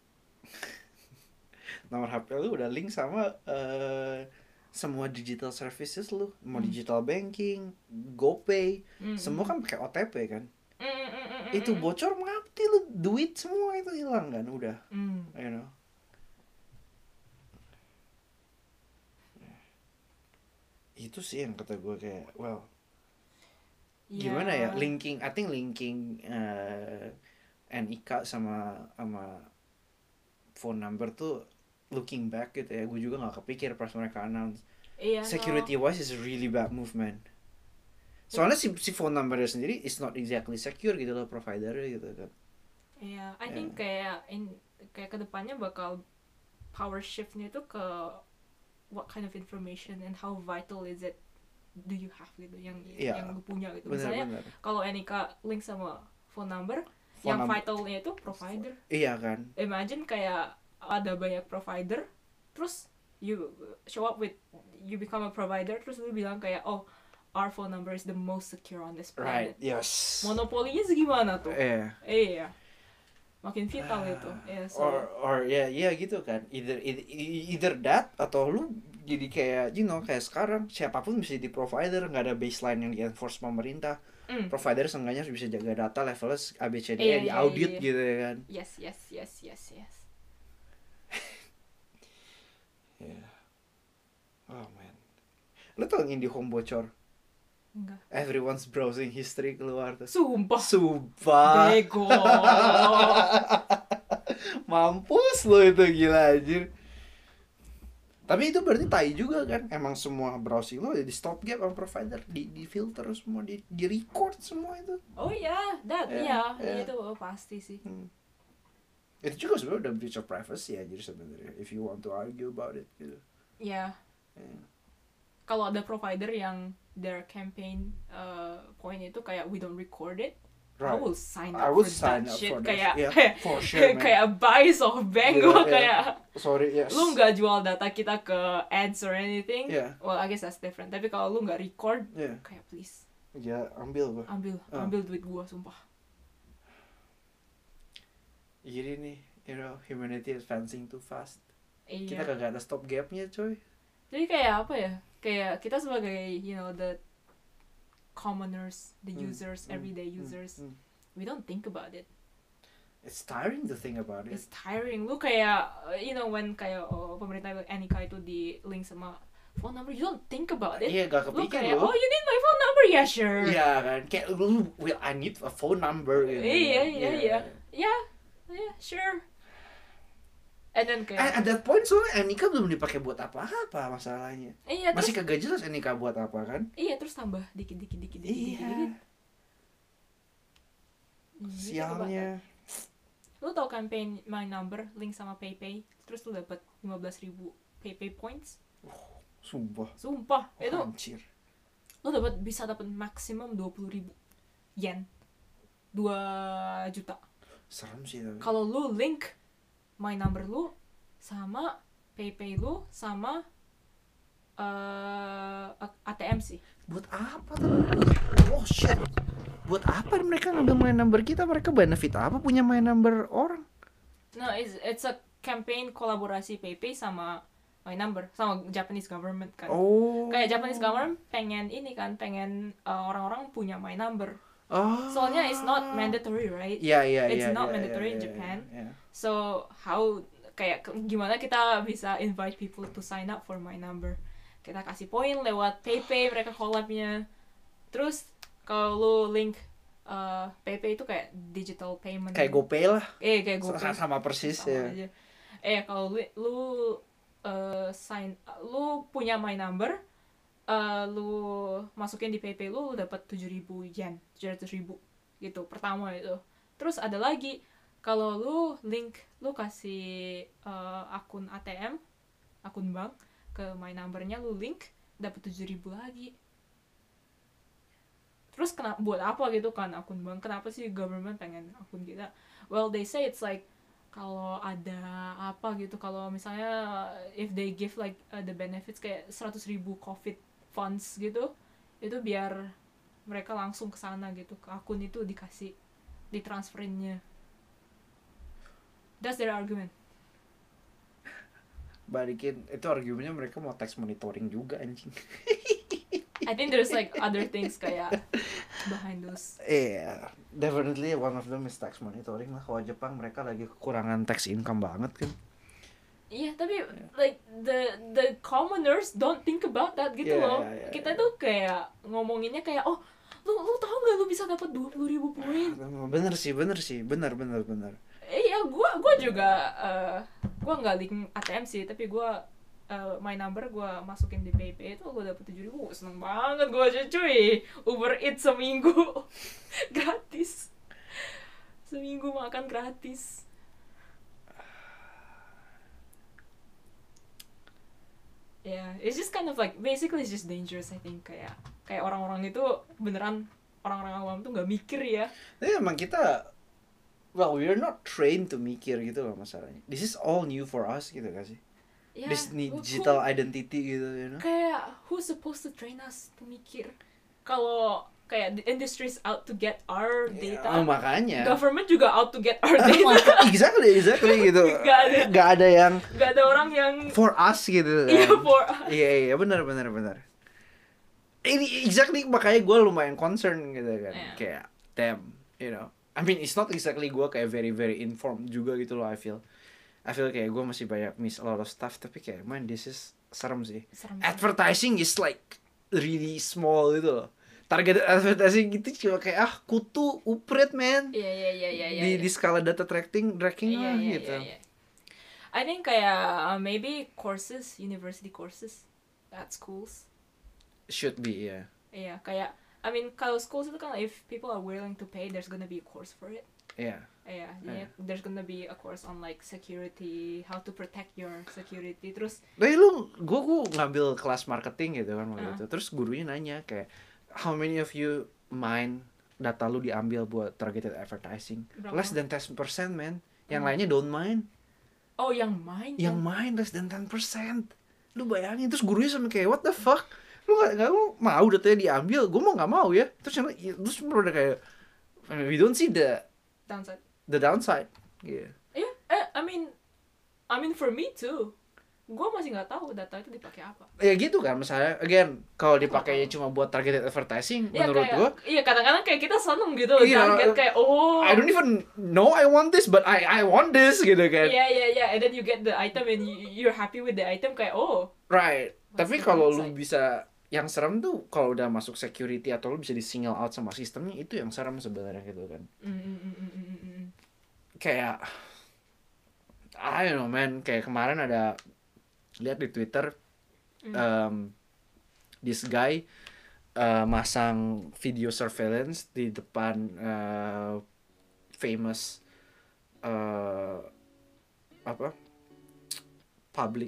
nomor H P lu udah link sama uh, semua digital services lu, mau mm. digital banking, GoPay, mm-hmm. semua kan pakai O T P kan. Mm-hmm. Itu bocor mati lu, duit semua itu hilang kan, udah. Mm. You know. Itu sih yang kata gue kayak, well, yeah. gimana ya, linking, I think linking uh, N I K sama sama phone number tuh looking back gitu ya, gue juga nggak kepikir pas mereka announce. Iya, security no. wise is a really bad movement. Soalnya si si phone numbernya sendiri is not exactly secure gitu loh providernya gitu kan. Iya, I yeah. think kayak in kayak kedepannya bakal power shiftnya itu ke what kind of information and how vital is it do you have gitu yang yeah. yang lu punya gitu. Bener, misalnya kalau N I K link sama phone number, phone yang num- vitalnya itu provider. Iya kan. Imagine kayak ada banyak provider, terus you show up with, you become a provider, terus lu bilang kayak, oh, our phone number is the most secure on this planet. Right, yes. Monopolinya segimana tuh? Iya. Eh, iya. Makin vital uh, itu. Yeah, so. Or, or ya, yeah, ya yeah, gitu kan. Either, either, either that, atau lu jadi kayak you know kayak sekarang siapapun bisa di provider, nggak ada baseline yang di enforce pemerintah. Mm. Provider seenggaknya bisa jaga data levelnya A B C D E Iya, di iya, audit iya. gitu ya kan. Yes, yes, yes, yes, yes. Yeah. Oh man. Lo tau yang IndiHome bocor? Enggak. Everyone's browsing history keluar tuh. Sumpah. Sumpah. Bego. Mampus lo itu, gila anjir. Tapi itu berarti tai juga kan. Emang semua browsing lo di stop gap sama provider, di di filter semua, di di record semua itu. Oh iya, that Yeah, iya, yeah. itu pasti sih. Hmm. Itu juga sebenarnya udah breach of privacy ya, jadi sebenarnya if you want to argue about it gitu. Iya. Yeah. Kalau ada provider yang their campaign uh, point itu kayak we don't record it, I Right. will sign I up would for sign that up shit. for that. Kayak Yeah, for sure, man. kayak buy SoftBank Yeah, gua yeah. kayak Sorry, yes. lu nggak jual data kita ke ads or anything. Yeah. Well, I guess that's different. Tapi kalau lu nggak record, Yeah. kayak please Ya, ambil gua. ambil Uh. ambil duit gua sumpah. Jadi nih, you know, humanity is advancing too fast. Iya. Kita kagak ada stop gapnya, coy. Jadi kayak apa ya? Kayak kita sebagai you know the commoners, the Hmm, users, hmm, everyday hmm, users, hmm. we don't think about it. It's tiring to think about it. It's tiring. Lu kayak uh, you know when kayak oh, pemerintah N I K itu di link sama phone number, you don't think about it. Iya, gak Lu kepikir kayak lo. oh you need my phone number, yeah sure. Iya kan, kayak lu, well, I need a phone number gitu. Iya, iya, Yeah. iya. Yeah, yeah, sure. And then kayak And at that point soalnya N I K belum dipakai buat apa-apa masalahnya. iya terus Masih kagak jelas N I K buat apa kan? iya terus tambah dikit dikit dikit dikit dikit. Iya. dikit. Gitu, Sialnya. Lu tau campaign My Number link sama PayPay, terus lu dapat lima belas ribu PayPay points. Sumpah. Sumpah, Oh, itu anjir. lu dapat bisa dapat maksimum dua puluh ribu yen. dua juta. Serem sih tapi. Kalau lu link My Number lu sama PayPay lu sama uh, A T M sih. Buat apa tuh? Oh shit. Buat apa mereka ngambil my number kita? Mereka benefit apa punya my number orang? No, it's it's a campaign kolaborasi PayPay sama My Number sama Japanese government kan. Oh. Kayak Japanese government pengen ini kan, pengen uh, orang-orang punya My Number. Oh. Soalnya it's not mandatory, right? Iya iya It's iya. not iya, mandatory iya, in iya, Japan. iya. So how kayak ke- gimana kita bisa invite people to sign up for My Number? Kita kasih poin lewat PayPay, mereka collabnya. Terus kalau lu link uh, PayPay itu kayak digital payment. Kayak GoPay lah. Eh kayak GoPay. Sama, sama persis Sama ya. aja. Eh kalau lu, lu uh, sign, lu punya My Number, uh, lu masukin di PayPay lu, lu dapat tujuh ribu yen, tujuh ratus ribu gitu pertama itu. Terus ada lagi kalau lu link, lu kasih uh, akun A T M, akun bank ke My Number-nya, lu link dapat tujuh ribu lagi. Terus kenapa buat apa gitu kan akun bank? Kenapa sih government pengen akun kita? Well, they say it's like kalau ada apa gitu, kalau misalnya if they give like uh, the benefits kayak seratus ribu COVID funds gitu, itu biar mereka langsung ke sana gitu, ke akun itu dikasih, ditransferinnya. That's their argument. Balikin itu argumennya mereka mau tax monitoring juga anjing. I think there's like other things kayak behind those. Iya, yeah, definitely one of them is tax monitoring lah. Kalau Jepang mereka lagi kekurangan tax income banget kan. Iya, tapi like the the commoners don't think about that gitu Yeah, loh. yeah, yeah, Kita yeah. tuh kayak ngomonginnya kayak oh, lu lu tahu nggak lu bisa dapat dua puluh ribu poin? Bener sih, bener sih, bener bener bener. Iya, gua gua juga uh, gua nggak link A T M sih, tapi gua uh, My Number gua masukin di PayPay itu gua dapet tujuh ribu. Seneng banget gua aja cuy. Uber Eats seminggu gratis. Seminggu makan gratis. Yeah, it's just kind of like basically it's just dangerous I think, kayak kayak orang-orang itu beneran orang-orang awam tuh nggak mikir ya. Tapi emang kita, well, we're not trained to mikir gitu loh masalahnya. This is all new for us gitu gak sih? Yeah, This who- digital who- identity gitu, you know? kayak who's supposed to train us to mikir? kalau kayak the industry's out to get our data, Oh, makanya. government juga out to get our Oh data. my God, exactly, exactly gitu. Gak ada. Gak ada yang Gak ada orang yang for us gitu kan. iya for us. Iya iya benar benar benar. Ini exactly makanya gue lumayan concern gitu kan. Yeah. Kayak damn, you know. I mean it's not exactly gue kayak very very informed juga gitu loh. I feel, I feel kayak gue masih banyak miss a lot of stuff. Tapi kayak man this is serem sih. Serem sih. Advertising is like really small gitu loh. Target advertising gitu cuma kayak ah kutu upret man. Iya iya iya iya iya. Di iya. di skala data tracking tracking Iya, lah iya, gitu. iya, iya. I think kayak uh, maybe courses, university courses at schools. Should be ya. Iya, kayak I mean kalau schools itu kan if people are willing to pay, there's gonna be a course for it. Iya. Iya, yeah, there's gonna be a course on like security, how to protect your security. Terus Tapi lu, gue gue ngambil kelas marketing gitu kan waktu Uh. itu. Terus gurunya nanya kayak, how many of you mind data lu diambil buat targeted advertising? Berapa? Less than ten percent man. Yang Hmm. lainnya don't mind. oh yang main Yang kan? mind less than ten percent. Lu bayangin, terus gurunya sama kayak, what the fuck? Lu gak, gak lu mau datanya diambil? Gue mau gak mau ya. Terus yang lain- terus udah kayak, we don't see the downside. the downside. Gitu. Iya, eh I mean I mean for me too. Gue masih nggak tahu data itu dipakai apa. Ya gitu kan, misalnya, again, kalau dipakainya cuma buat targeted advertising, Iya menurut kayak, gue, iya kadang-kadang kayak kita seneng gitu loh, Iya, target kayak oh I don't even know I want this, but I I want this gitu kan. iya iya iya, and then you get the item and you, you're happy with the item kayak oh Right. What's Tapi the kalau lu downside? bisa, yang serem tuh kalau udah masuk security atau lu bisa di single out sama sistemnya, itu yang serem sebenarnya gitu kan. mm, mm, mm, mm, mm, mm. Kayak I don't know man, kayak kemarin ada lihat di Twitter Mm. um, this guy uh, masang video surveillance di depan uh, famous uh, apa public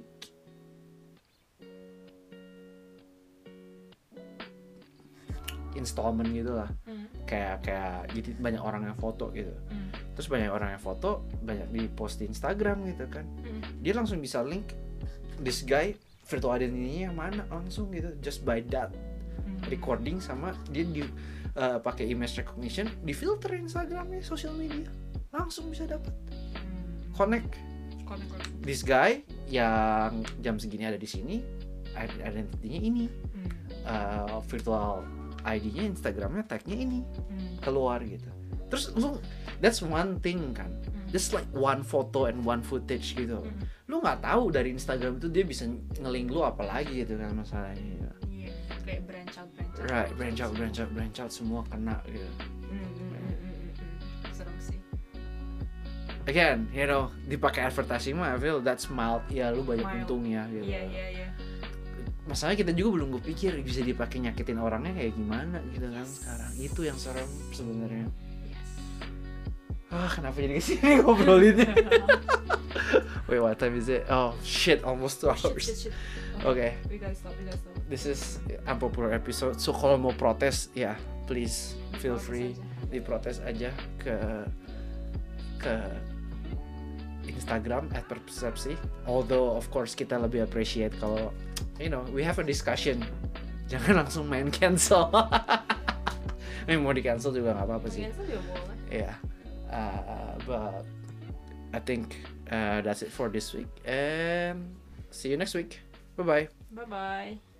installment gitu lah, Mm, kayak kayak jadi banyak orang yang foto gitu, mm, terus banyak orang yang foto banyak di post di Instagram gitu kan, mm. dia langsung bisa link this guy virtual identity-nya yang mana langsung gitu just by that Mm. recording, sama dia di uh, pakai image recognition, di filter Instagramnya social media, langsung bisa dapat Mm. connect Connect, connect. this guy yang jam segini ada di sini, identity-nya ini, Mm, uh, virtual I D-nya Instagramnya tag-nya ini mm, keluar gitu. Terus lu that's one thing kan, mm. just like one photo and one footage gitu. Mm. Lu nggak tahu dari Instagram itu dia bisa nge-link lu apa lagi gitu kan masalahnya. Iya, kayak branch out branch out Right, branch out, branch out, branch out, semua kena gitu. Mm, mm, mm, mm, mm, mm. Serem sih. Again, you know, dipakai advertising mah I feel that's mild. Ya lu banyak Mild. untungnya gitu. Iya iya iya. Masalahnya kita juga belum kepikir bisa dipakai nyakitin orangnya kayak gimana gitu kan Yes. sekarang. Itu yang serem sebenarnya. Yes. Ah, kenapa jadi kesini ngobrolinnya? Wait, what time is it? Oh shit, almost two Oh, shit, hours. shit, shit. Okay. We gotta stop, we gotta stop. This is unpopular episode. So kalau mau protes, ya please feel Protes free aja. diprotes aja ke ke Instagram at persepsi. Although of course kita lebih appreciate kalau you know we have a discussion. Jangan langsung main cancel. Eh, mau di cancel juga nggak apa-apa sih. Cancel juga boleh. Yeah. Uh, but I think uh, that's it for this week and see you next week. Bye bye. Bye bye.